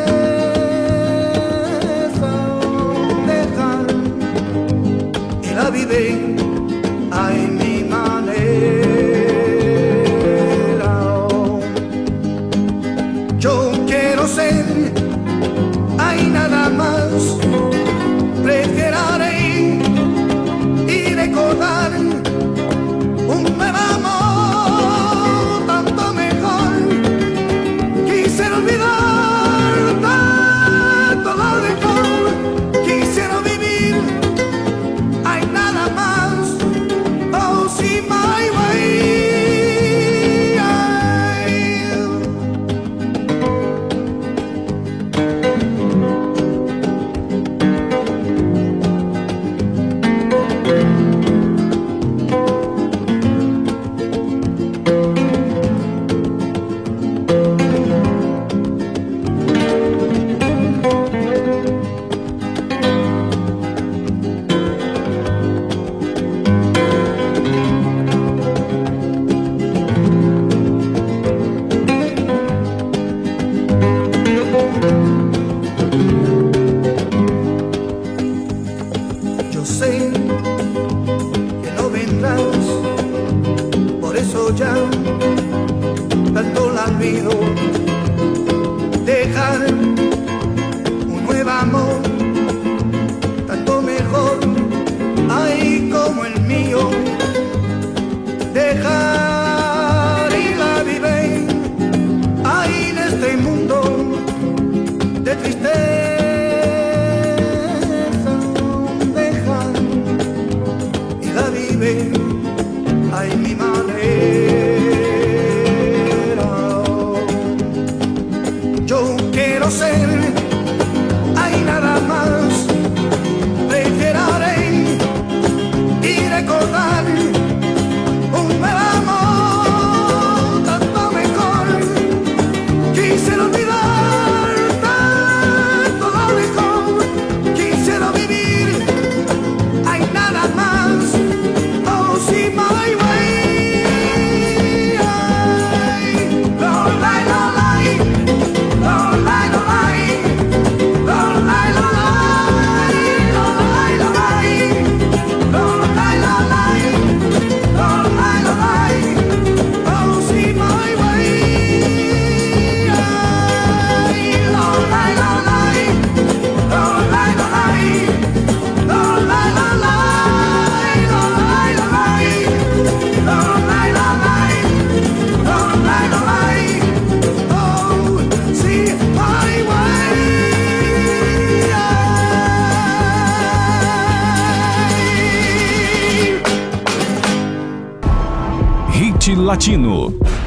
Speaker 15: Dejar y la vive ahí mi manera. Yo quiero ser ahí nada más, preferiré y recordar un nuevo amor, tanto mejor. Quisiera olvidar tanto lo mejor, quisiera vivir, hay nada más. Oh, see my way. Yo sé que no vendrás, por eso ya tanto la olvido. Dejar un nuevo amor, tanto mejor, ahí como el mío. Dejar y la vive ahí en este mundo de tristeza. Dejar y la vive ahí mi manera. Yo quiero ser ahí nada más, preferiré y recordar un nuevo amor, tanto mejor. Quisiera olvidar tanto lo mejor, quisiera vivir, hay nada más. Oh, see my way. Lo lai, lo lai, lo lai, lo lai, lo lai, lo lai, lo lai, lo lai, lo lai, lo lai, lo lai, lo lai. Oh, see my way. Lo lai, lo lai, lo lai, lo lai, lo lai, lo lai, lo lai, lo lai, lo lai, lo lai, lo lai, lo lai. Oh, see my way.
Speaker 5: Hit Latino.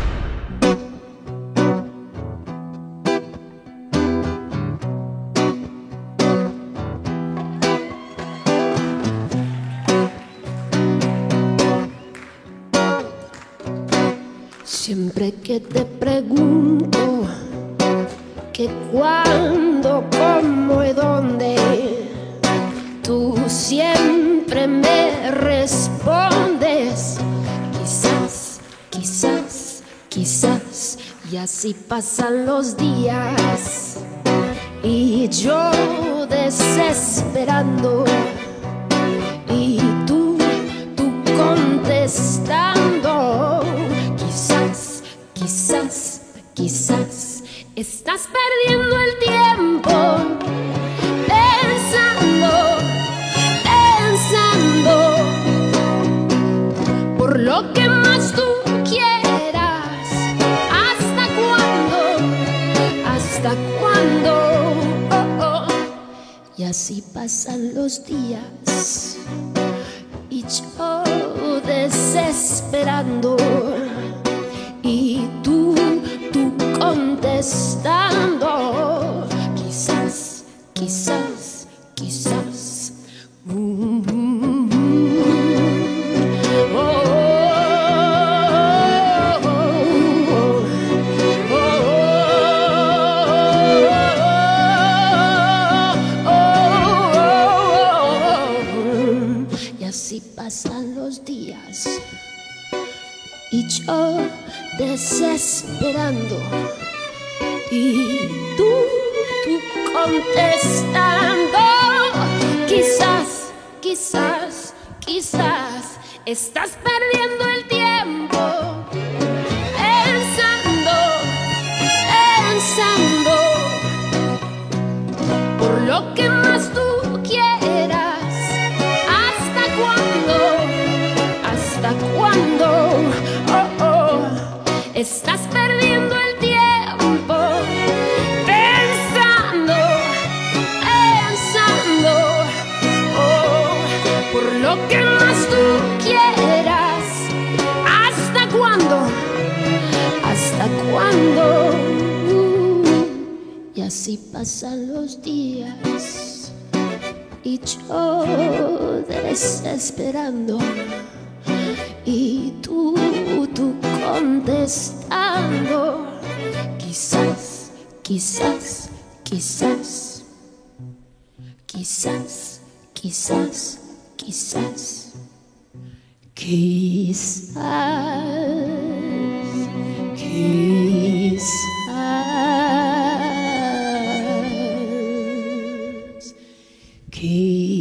Speaker 6: Siempre que te pregunto que cuándo, cómo y dónde, tú siempre me respondes quizás, quizás, quizás. Y así pasan los días y yo desesperando y tú, tú contestando. Quizás, quizás, quizás estás perdiendo el tiempo pensando, pensando por lo que más tú quieras. ¿Hasta cuándo? ¿Hasta cuándo? Oh, oh. Y así pasan los días y yo desesperando y tú, tú contestando. Quizás, quizás, quizás. Mm, mm, mm. Oh, oh, oh, oh. desesperando. Y tú, tú contestando. Quizás, quizás, quizás estás perdiendo el tiempo pensando, pensando por lo que más tú quieras. ¿Hasta cuándo? ¿Hasta cuándo? Oh, oh. Estás perdiendo el tiempo pensando, pensando oh, por lo que más tú quieras. ¿Hasta cuándo? ¿Hasta cuándo? Uh, y así pasan los días y yo desesperando. Y tú, tú contestando. Quizás, quizás, quizás, quizás, quizás, quizás, quizás, quizás, quizás.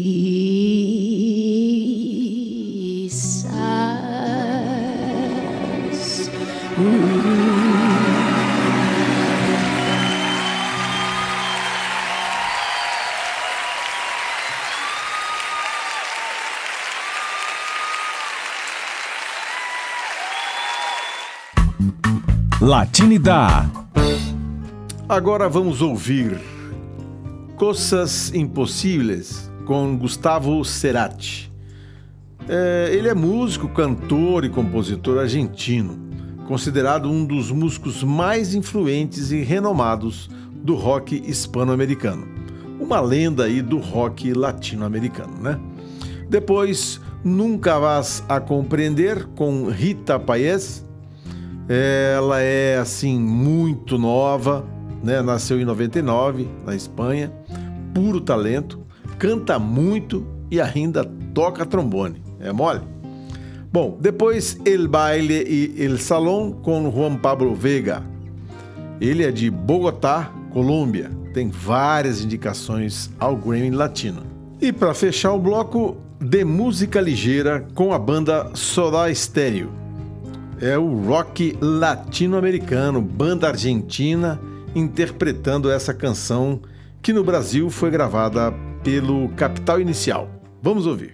Speaker 5: Latinidad.
Speaker 2: Agora vamos ouvir Coisas Impossíveis com Gustavo Cerati. É, ele é músico, cantor e compositor argentino, considerado um dos músicos mais influentes e renomados do rock hispano-americano. Uma lenda aí do rock latino-americano, né? Depois, Nunca Vas a Compreender com Rita Payés. Ela é, assim, muito nova, né? Nasceu em noventa e nove, na Espanha, puro talento, canta muito e ainda toca trombone. É mole? Bom, depois El Baile e El Salón com Juan Pablo Vega. Ele é de Bogotá, Colômbia. Tem várias indicações ao Grammy Latino. E para fechar o bloco, de música ligeira com a banda Soda Stereo. É o rock latino-americano, banda argentina, interpretando essa canção que no Brasil foi gravada pelo Capital Inicial. Vamos ouvir.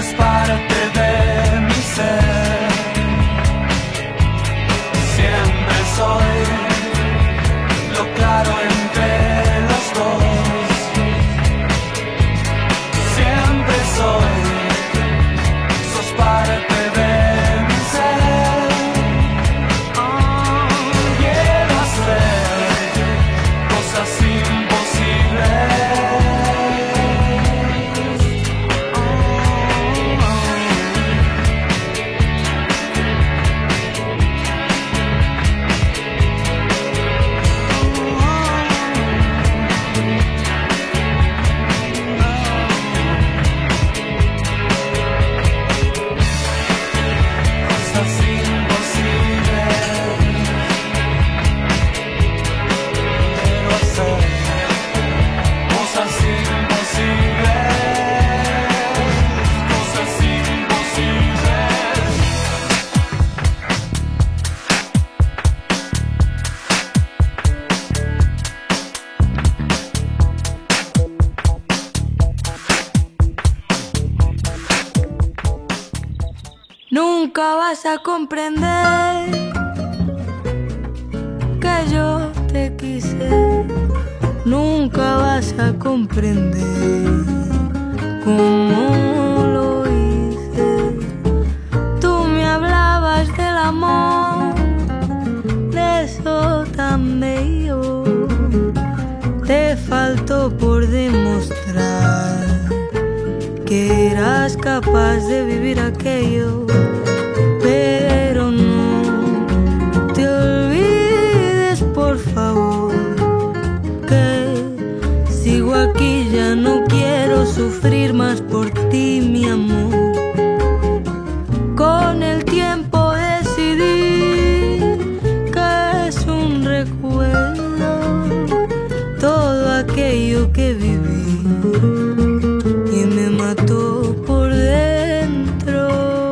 Speaker 8: es parte de mi ser. Siempre soy lo claro entre los dos. Siempre soy, sos parte de mi ser. Oh, quiero hacer cosas imposibles.
Speaker 6: Nunca vas a comprender que yo te quise. Nunca vas a comprender cómo lo hice. Tú me hablabas del amor, de eso tan bello. Te faltó por demostrar que eras capaz de vivir aquello, pero no te olvides, por favor, que sigo aquí, ya no quiero sufrir más por ti, mi amor. Con el tiempo decidí que es un recuerdo todo aquello que viví y me mató por dentro.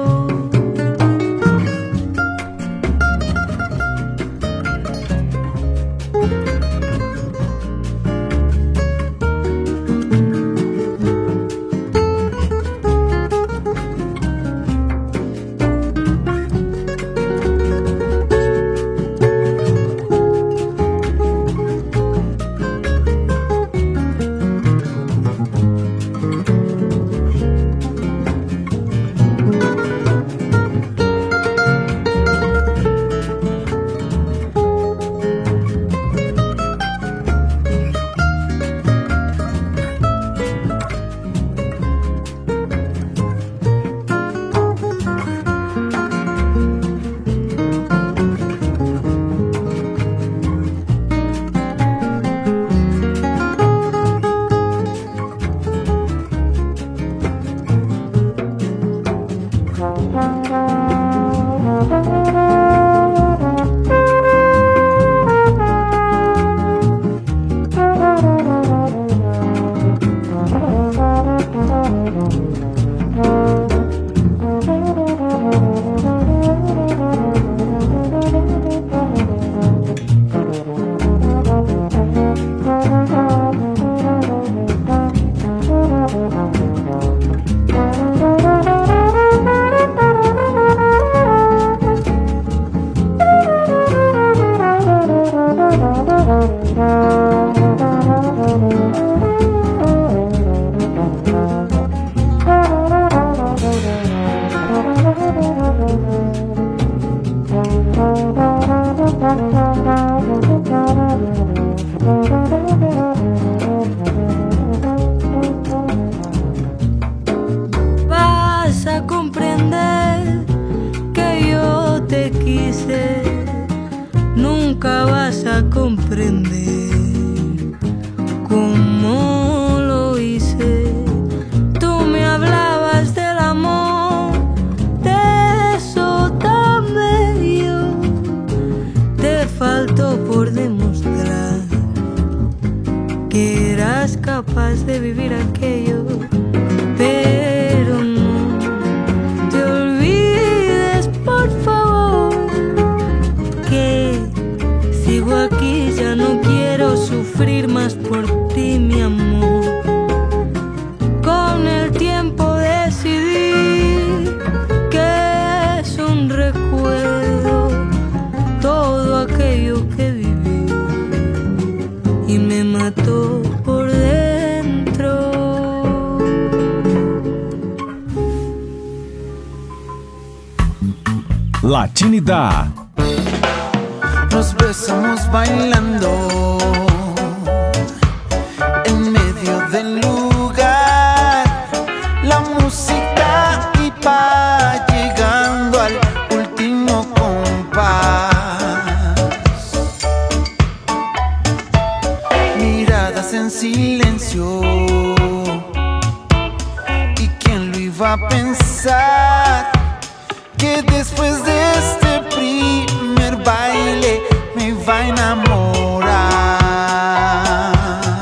Speaker 6: Vas a comprender que yo te quise, nunca vas a comprender cómo lo hice. Tú me hablabas del amor, de eso tan bello. Te faltó por demostrar que eras capaz de vivir aquello, pero no te olvides, por favor, que sigo aquí, ya no quiero sufrir más por ti, mi amor. Con el tiempo decidí
Speaker 5: Latinidad.
Speaker 12: Nos besamos bailando en medio del lugar. La música iba llegando al último compás. Miradas en silencio. ¿Y quién lo iba a pensar? Que después de este primer baile me iba a enamorar.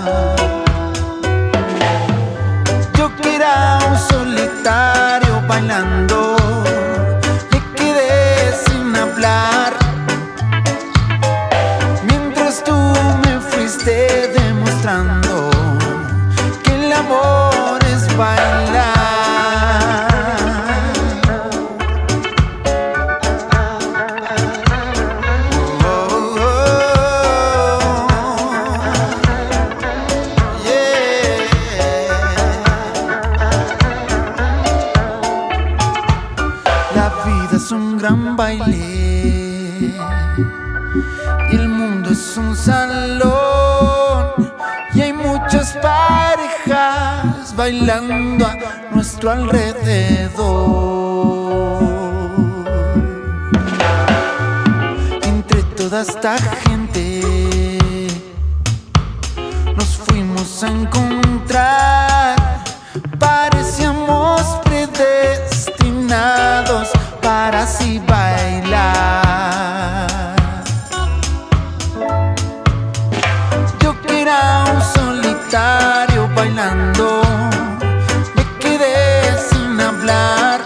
Speaker 12: Yo que era un solitario bailando, me quedé sin hablar, mientras tú me fuiste demostrando que el amor es bailar. Baile y el mundo es un salón y hay muchas parejas bailando a nuestro alrededor. Entre toda esta gente nos fuimos a encontrar, parecíamos predestinados para así bailar. Yo que era un solitario bailando, me quedé sin hablar,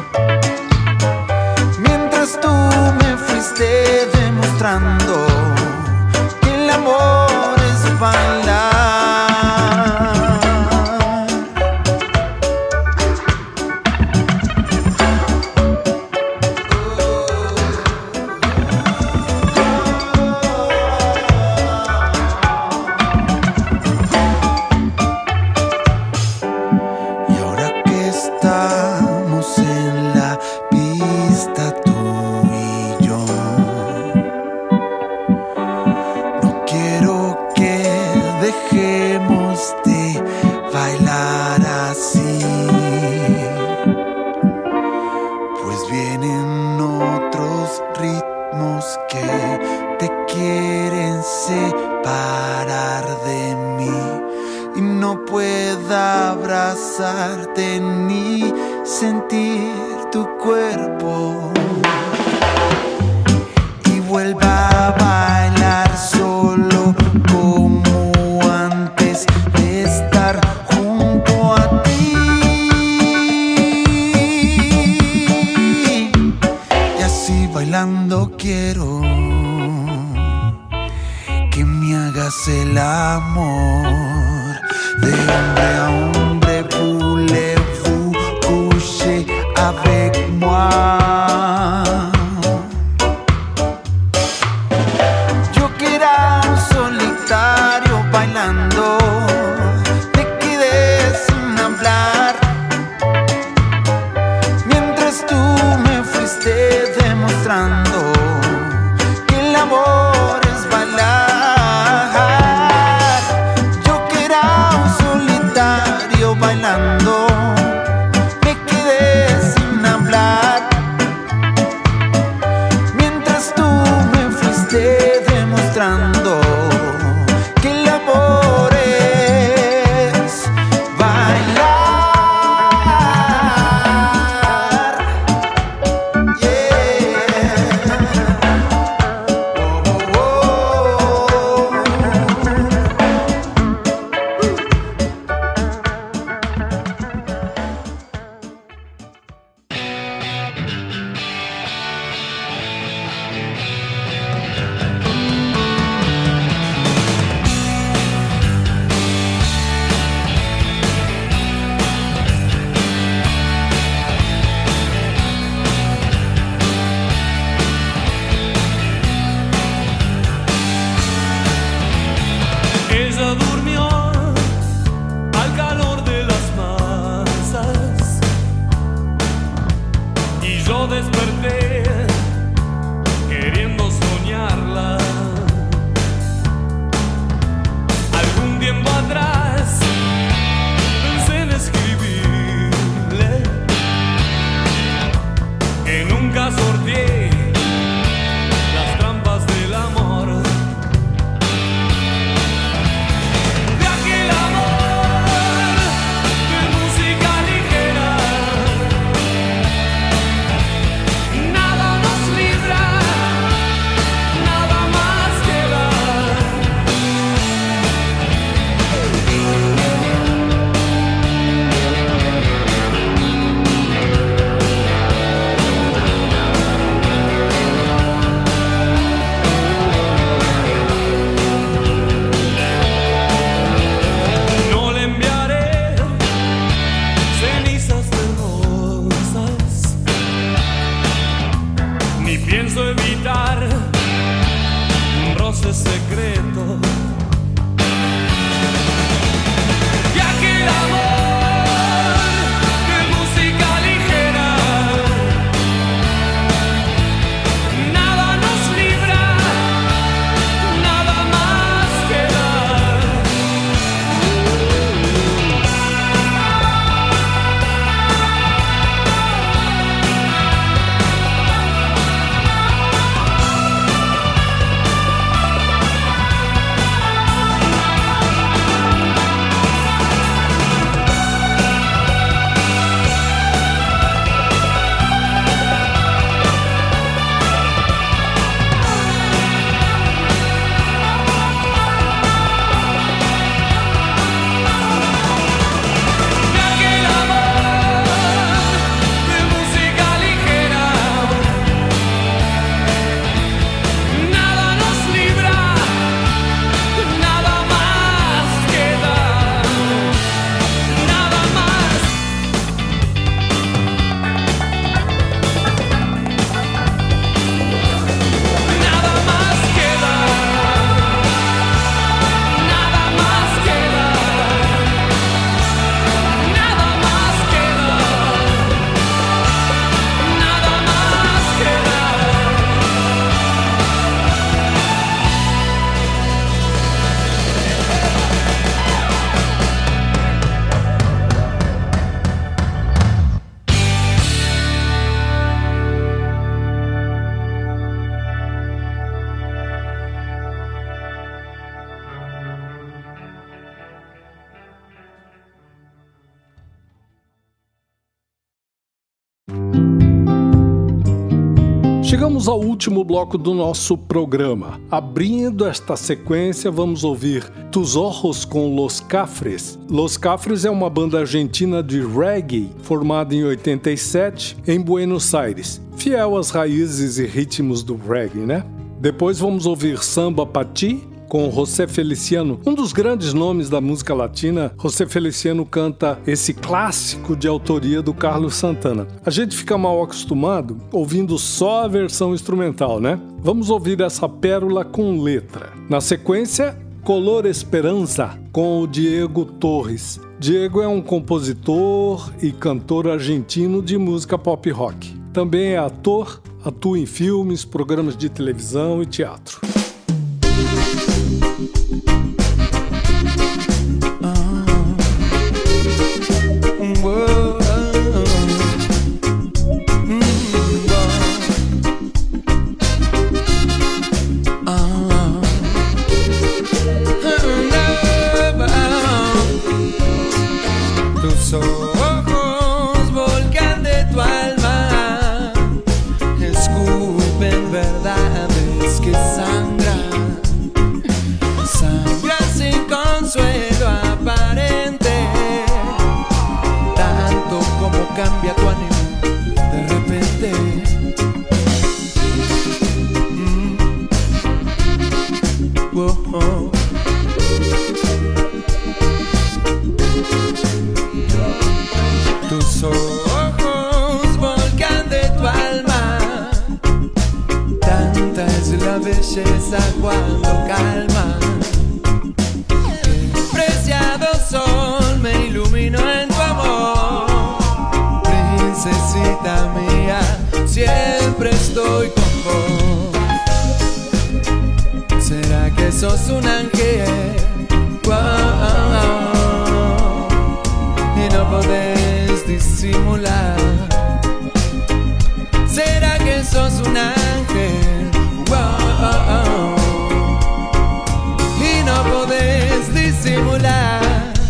Speaker 12: mientras tú me fuiste demostrando que el amor es bailar. Ni sentir tu cuerpo y vuelva a bailar solo como antes de estar junto a ti. Y así bailando quiero que me hagas el amor de hombre a hombre. Avec moi. Yo que era un solitario bailando, me quedé sin hablar, mientras tú me fuiste demostrando que el amor es bailar. Yo que era un solitario bailando, demostrando que el amor es bailar. Yeah. Oh, oh, oh.
Speaker 16: desperté
Speaker 1: Chegamos ao último bloco do nosso programa. Abrindo esta sequência, vamos ouvir Tus Ojos com Los Cafres. Los Cafres é uma banda argentina de reggae formada em oitenta e sete em Buenos Aires, fiel às raízes e ritmos do reggae, né? Depois vamos ouvir Samba Pa Ti com José Feliciano, um dos grandes nomes da música latina. José Feliciano canta esse clássico de autoria do Carlos Santana. A gente fica mal acostumado ouvindo só a versão instrumental, né? Vamos ouvir essa pérola com letra. Na sequência, Color Esperança com o Diego Torres. Diego é um compositor e cantor argentino de música pop rock. Também é ator, atua em filmes, programas de televisão e teatro.
Speaker 14: Cambia tu ánimo de repente. Mm. Oh, oh. Tus ojos, volcán de tu alma, tanta es la belleza cuando calma. Qué preciado sol me iluminó en tu amor. Princesita mía, siempre estoy con vos. ¿Será que sos un ángel? Wow. Y no podés disimular. ¿Será que sos un ángel? Wow. Y no podés disimular.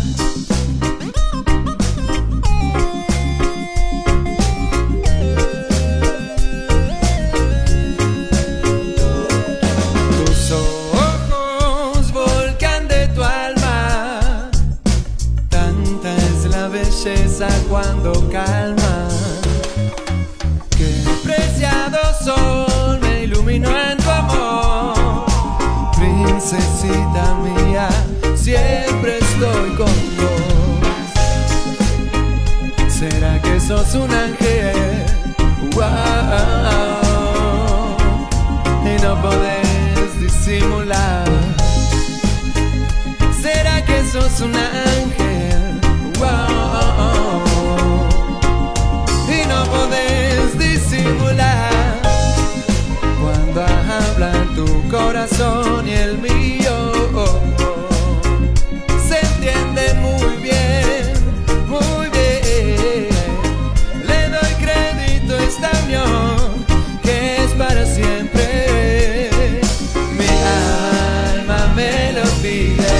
Speaker 14: Cuando calma, qué preciado sol me iluminó en tu amor. Princesita mía, siempre estoy con vos. ¿Será que sos un ángel? Wow. Y no podés disimular. ¿Será que sos un ángel? Wow. Y no podés disimular cuando habla tu corazón y el mío. Se entiende muy bien, muy bien. Le doy crédito a esta unión que es para siempre. Mi alma me lo pide.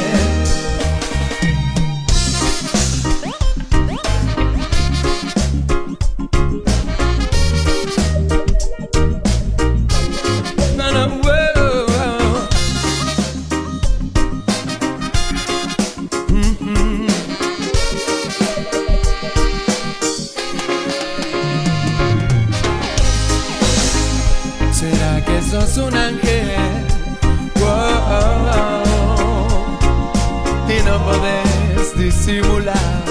Speaker 14: Sos un ángel, wow, y no podés disimular.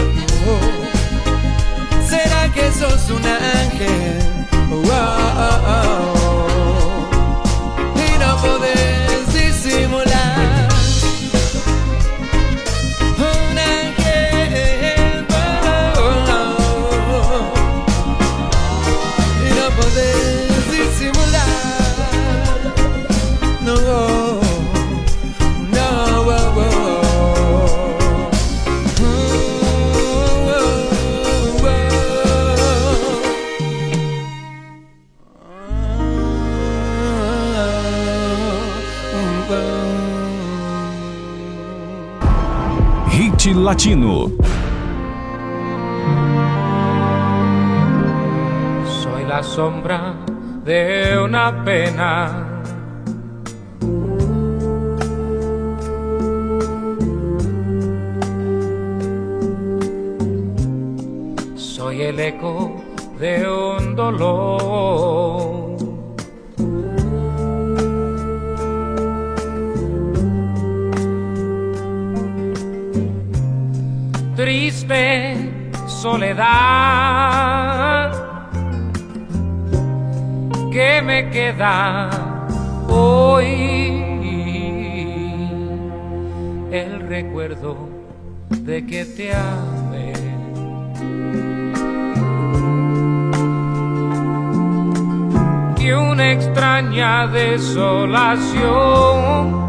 Speaker 14: Oh. ¿Será que sos un ángel? Wow, y no podés disimular. Un ángel, wow, y no podés disimular. No, no, oh, oh. Oh, oh, oh.
Speaker 5: Hit Latino.
Speaker 16: la sombra de una pena. Soy el eco de un dolor. Triste soledad que me queda hoy, el recuerdo de que te amé. Y una extraña desolación,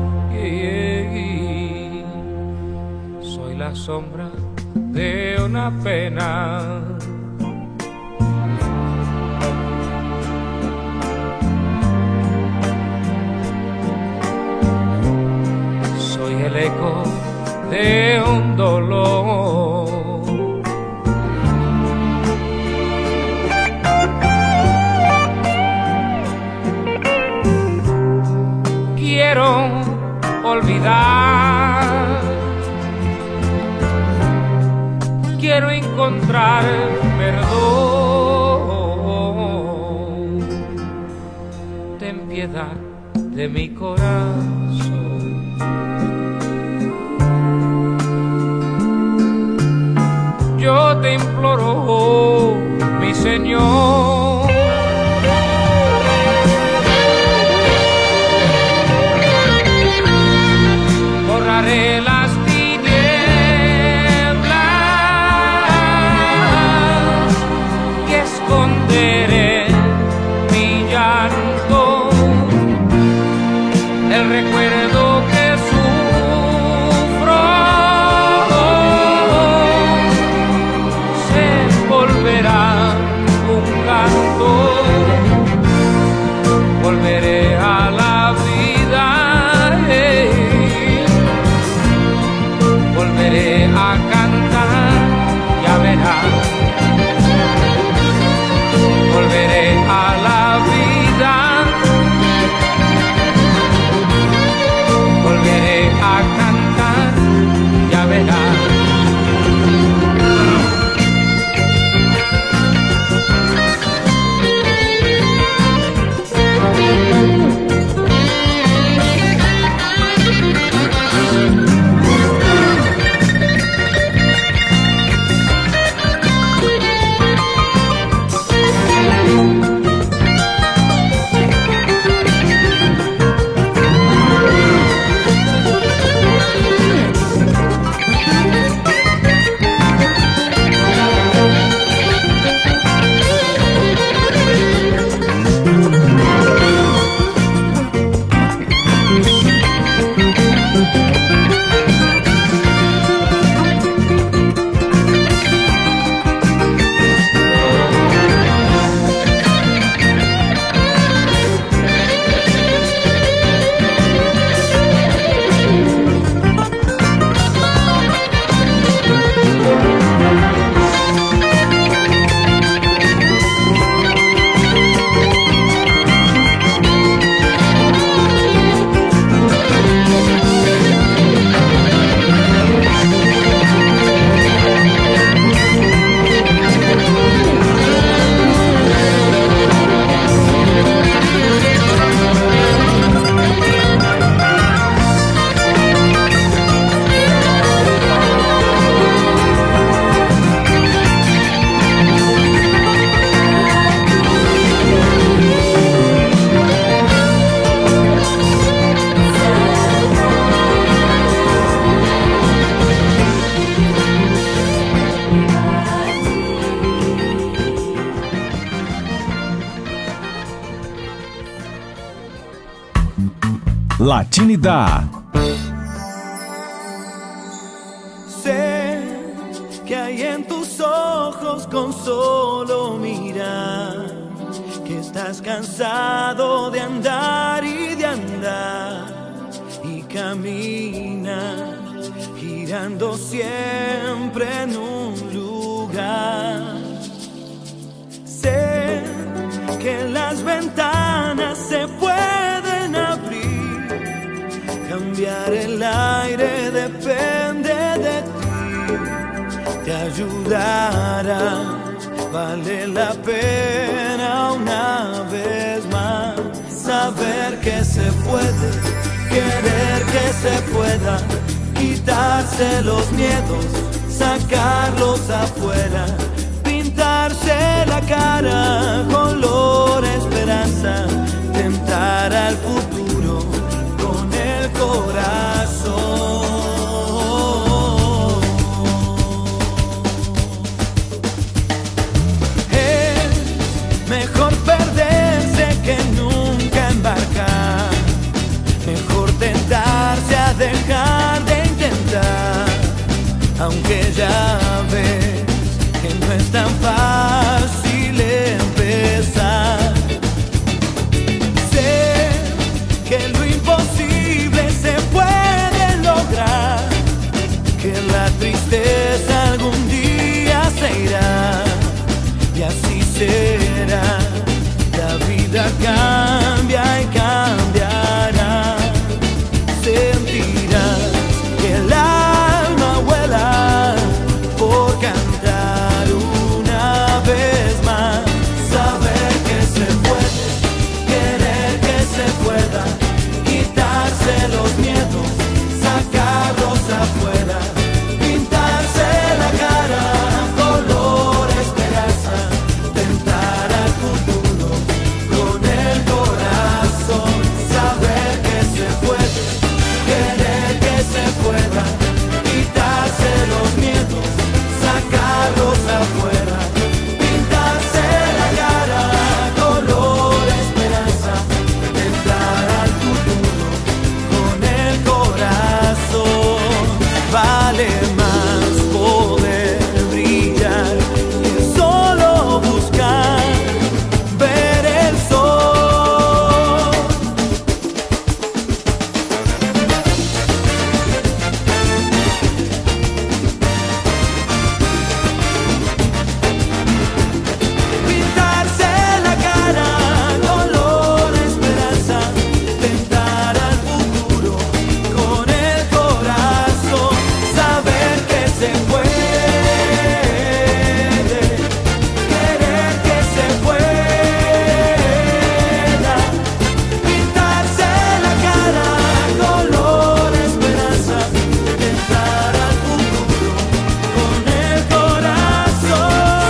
Speaker 16: soy la sombra de una pena. Soy el eco de un dolor. Quiero olvidar, quiero encontrar perdón. Ten piedad de mi corazón. Yo te imploro, mi Señor. Borraré las tinieblas y esconderé mi llanto, el recuerdo que sufro se volverá un canto. Volveré a la vida, volveré a cantar, ya verás. Volveré a la vida, volveré a cantar, ya verás.
Speaker 5: Latinidad.
Speaker 14: Sé que hay en tus ojos con solo mirar que estás cansado de andar y de andar y caminar girando siempre en un lugar. Sé ventanas se pueden abrir, cambiar el aire depende de ti, te ayudará, vale la pena una vez más saber que se puede, querer que se pueda, quitarse los miedos, sacarlos afuera, pintarse la cara, color esperanza, tentar al futuro con el corazón. Es mejor perderse que nunca embarcar, mejor tentarse a dejar de intentar, aunque ya ves que no es tan fácil empezar. Sé que lo imposible se puede lograr, que la tristeza algún día se irá, y así será. La vida cambia y cambiará, sentirás que el alma vuela por cantar una vez más, saber que se puede, querer que se pueda, quitarse los miedos, sacarlos afuera, pintarse la cara, color esperanza, tentar al futuro con el corazón, saber que se puede, querer que se pueda, quitarse los miedos, sacarlos afuera, pintarse la cara, color esperanza, tentar al futuro con el corazón. Vale más poder brillar que solo buscar ver el sol. Pintarse la cara, color esperanza, tentar al futuro con el corazón, saber que se puede, querer que se pueda, pintarse la cara, color esperanza, tentar al futuro con el corazón,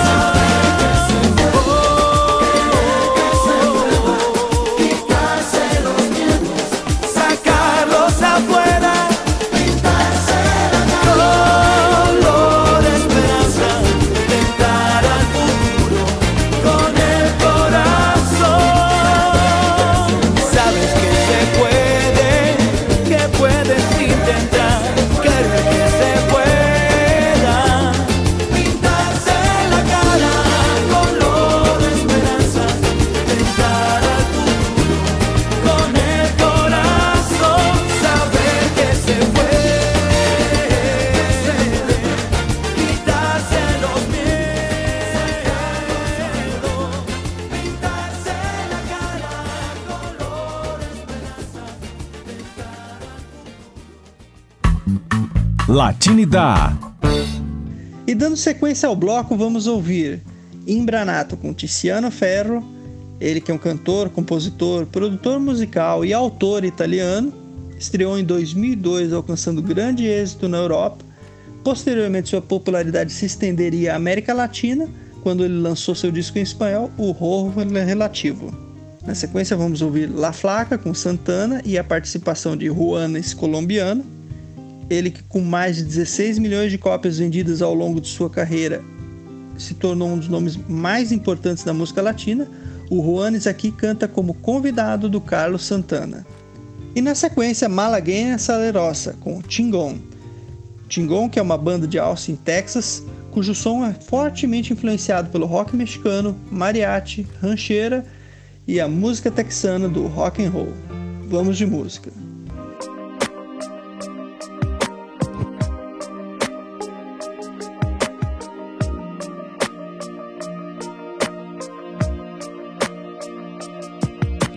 Speaker 14: quitarse los miedos, sacarlos afuera, pintarse la cara, color esperanza, tentar al futuro con el corazón. Sabes que se puede, que puedes intentar, querer que se pueda, pintarse la cara, color esperanza, tentar al futuro con el corazón, saber que se puede, quitarse los miedos, pintarse la cara, color esperanza,
Speaker 5: Latinidad.
Speaker 3: E dando sequência ao bloco, vamos ouvir Imbranato com Tiziano Ferro, ele que é um cantor, compositor, produtor musical e autor italiano, estreou em dois mil e dois alcançando grande êxito na Europa. Posteriormente sua popularidade se estenderia à América Latina, quando ele lançou seu disco em espanhol, O Rojo Relativo. Na sequência vamos ouvir La Flaca com Santana e a participação de Juanes colombiano, ele que com mais de dezesseis milhões de cópias vendidas ao longo de sua carreira se tornou um dos nomes mais importantes da música latina. O Juanes aqui canta como convidado do Carlos Santana. E na sequência, Malagueña Salerosa com Chingon. Chingon, que é uma banda de Austin, Texas, cujo som é fortemente influenciado pelo rock mexicano, mariachi, rancheira e a música texana do rock and roll. Vamos de música.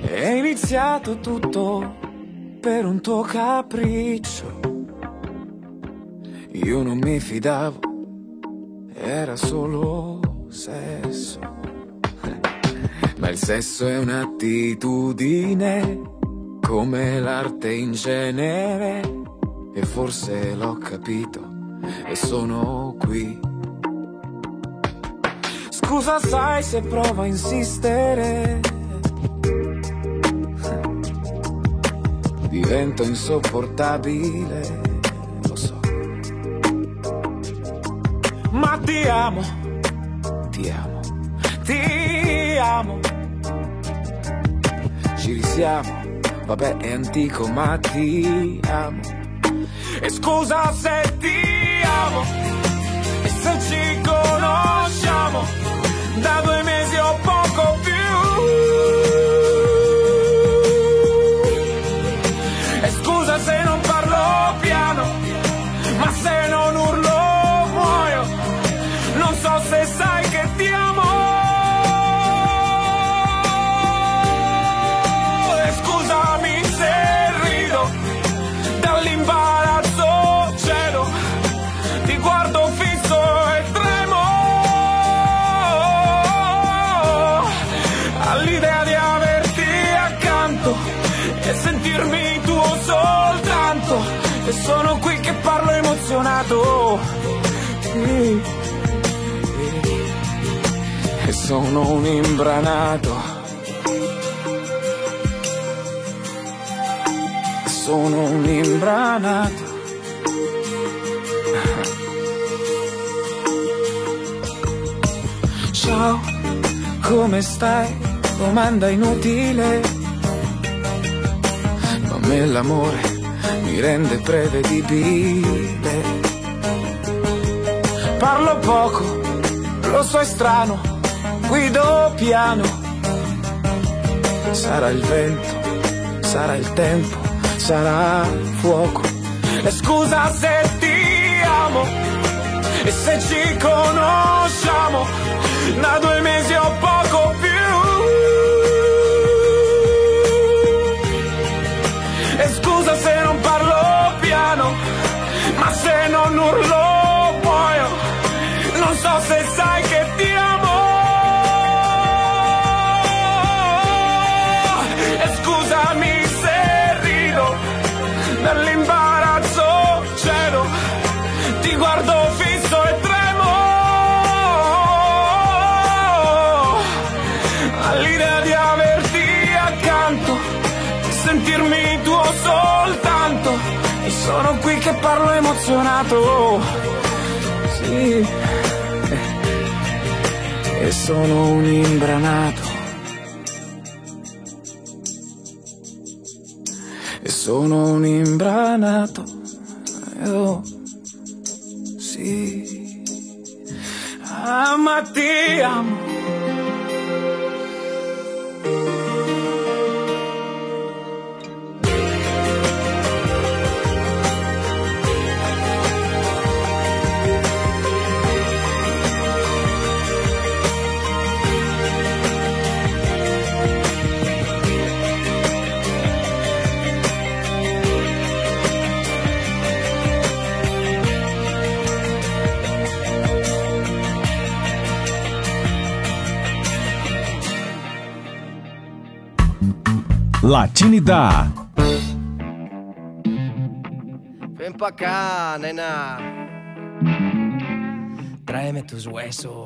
Speaker 17: È iniziato tutto per un tuo capriccio. Io non mi fidavo, era solo sesso. Ma il sesso è un'attitudine, come l'arte in genere. E forse l'ho capito e sono qui. Scusa, sai se provo a insistere, divento insopportabile, lo so. Ma ti amo, ti amo, ti amo. Ci risiamo, vabbè è antico ma ti amo. E scusa se ti amo, e se ci conosciamo da due mesi o poco più. E scusa se non parlo piano, ma se non urlo muoio. Non so se sai che ti amo. E scusami se rido, dall'imbarazzo cedo, ti guardo fisso e tremo all'idea di averti accanto e sentirmi tuo soltanto. E sono qui che parlo emozionato, sì. E sono un imbranato, sono un imbranato. Ciao, come stai? Domanda inutile, ma a me l'amore mi rende prevedibile. Parlo poco, lo so è strano, guido piano. Sarà il vento, sarà il tempo, sarà il fuoco. E scusa se ti amo, e se ci conosciamo da due mesi o poco più. E scusa se non parlo piano, ma se non urlo muoio. Non so se sai che ti amo. E scusami se rido, dall'imbarazzo cedo, ti guardo fisso e tremo all'idea di averti accanto, sentirmi tuo soltanto. E sono qui che parlo emozionato, sì. E sono un imbranato, e sono un imbranato, oh, sì. Ah, ma ti amo.
Speaker 5: Latinidad.
Speaker 18: Ven pa' acá, nena. Tráeme tus huesos.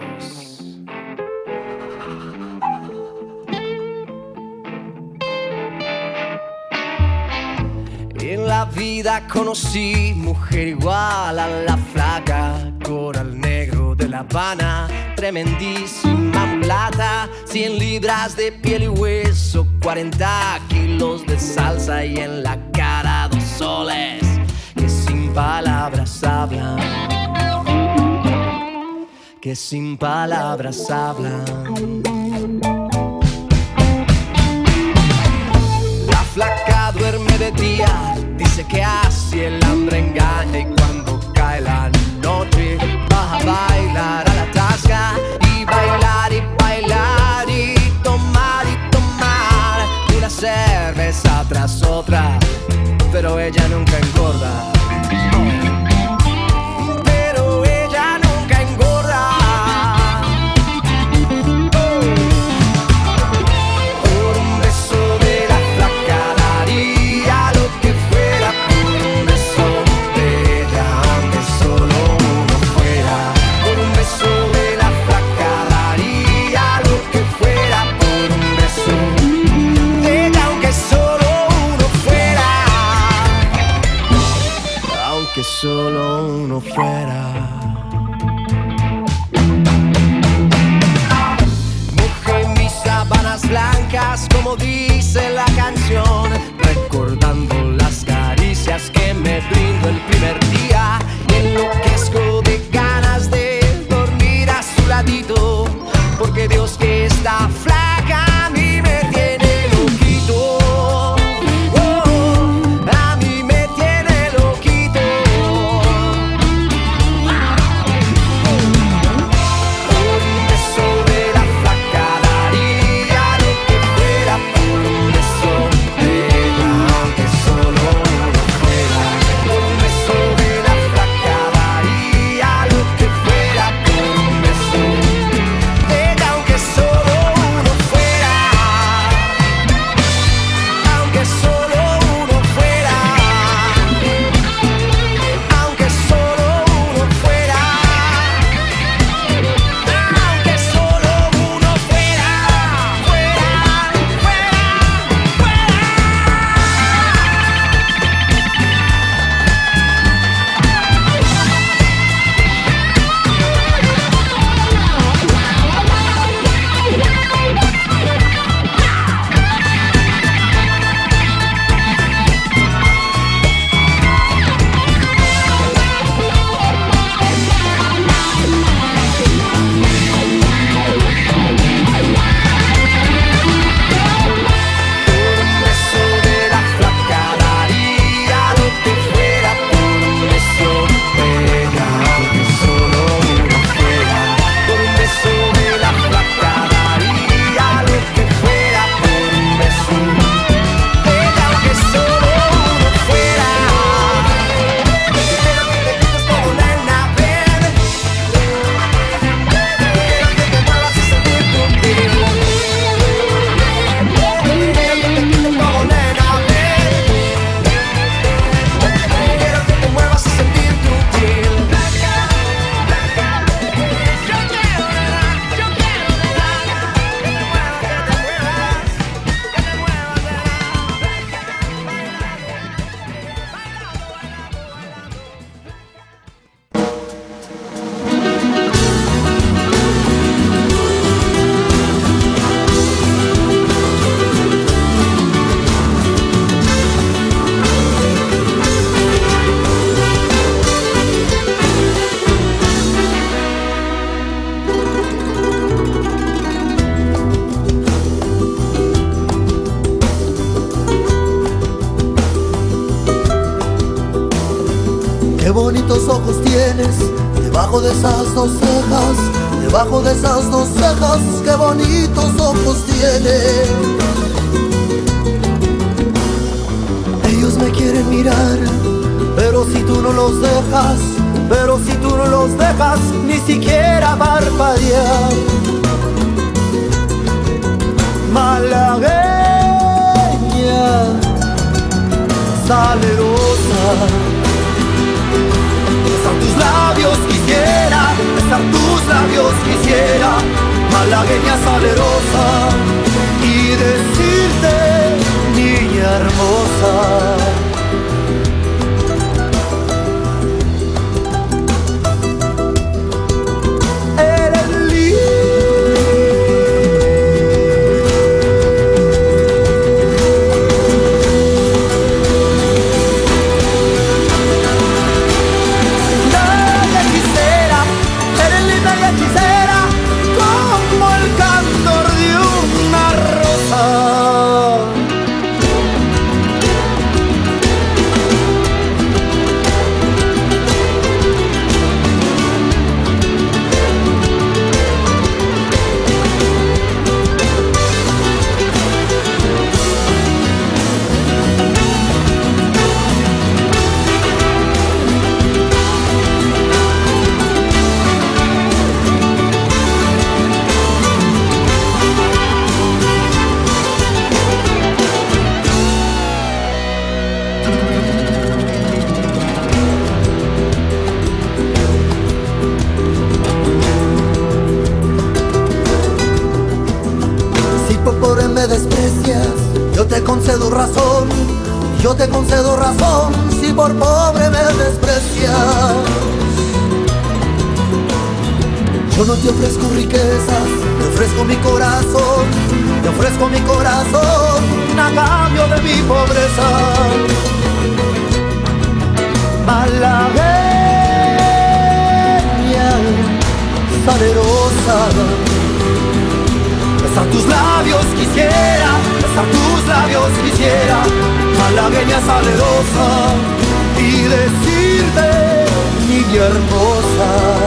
Speaker 18: En la vida conocí mujer igual a la flaca, coral negro de La Habana, tremendísima mulata, cien libras de piel y hueso, cuarenta kilos de salsa y en la cara dos soles que sin palabras hablan, que sin palabras hablan. La flaca duerme de día, dice que así el hambre engaña, y cuando cae la noche va a bailar a la tasca, y bailar y bailar y tomar y tomar una ella nunca engorda. Pero ella nunca engorda. Por un beso de la flaca daría lo que fuera. Por un beso de ella, aunque solo uno fuera. Por un beso de la flaca daría lo que fuera. Por un beso de ella, aunque solo uno fuera. Aunque solo uno fuera. Mojé mis sábanas blancas, como dice la canción, recordando las caricias que me brindó el primer día. Y enloquezco de ganas de dormir a su ladito, porque Dios que está flaca a mí me tiene loquito. Oh, a mí me tiene loquito. Por un beso de la flaca daría lo que fuera. Por un beso de ella, aunque solo uno fuera. Por un beso de la flaca daría lo que fuera. Por un beso de ella, aunque solo uno fuera. Aunque solo uno fuera. Aunque solo uno fuera. Aunque solo uno fuera. Fuera, fuera, fuera. Por un beso de la flaca daría lo que fuera. Por un beso de ella, aunque solo uno fuera. Por un beso de la flaca daría lo que fuera. Por un beso de ella, aunque solo uno fuera. Quiero que te quites como nena, ven. Quiero que te muevas y sentir tu piel. Quiero que te quites como nena, ven. Quiero que te muevas y sentir tu piel. Yo quiero, nena, yo quiero, nena, que te muevas, que te muevas, que te muevas,
Speaker 19: Qué bonitos ojos tienes, debajo de esas dos cejas, debajo de esas dos cejas, qué bonitos ojos tienes. Ellos me quieren mirar, pero si tú no los dejas, pero si tú no los dejas, ni siquiera parpadear. Malagueña, salerosa, besar tus labios quisiera, besar tus labios quisiera, malagueña salerosa, y decirte, niña hermosa. Eres linda y hechicera como el candor de un gracias, yo te concedo razón, yo te concedo razón, si por pobre me desprecias. Yo no te ofrezco riquezas, te ofrezco mi corazón, te ofrezco mi corazón a cambio de mi pobreza. Malagueña, salerosa, besar tus labios quisiera, besar tus labios quisiera, malagueña salerosa, y decirte, niña hermosa.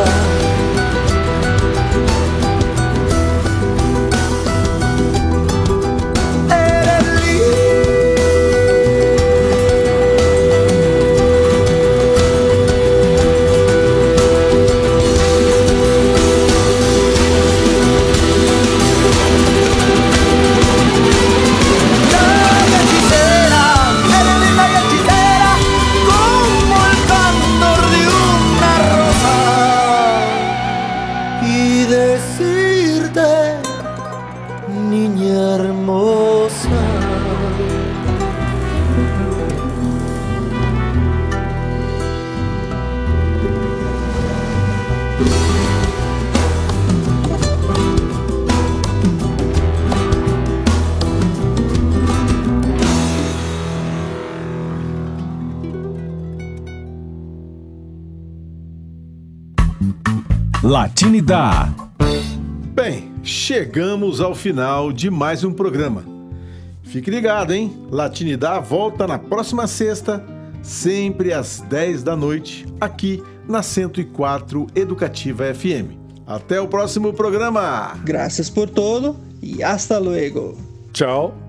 Speaker 5: Latinidade.
Speaker 2: Bem, chegamos ao final de mais um programa. Fique ligado, hein? Latinidade volta na próxima sexta, sempre às dez da noite, aqui na cento e quatro Educativa F M. Até o próximo programa.
Speaker 3: Graças por todo e hasta luego.
Speaker 1: Tchau.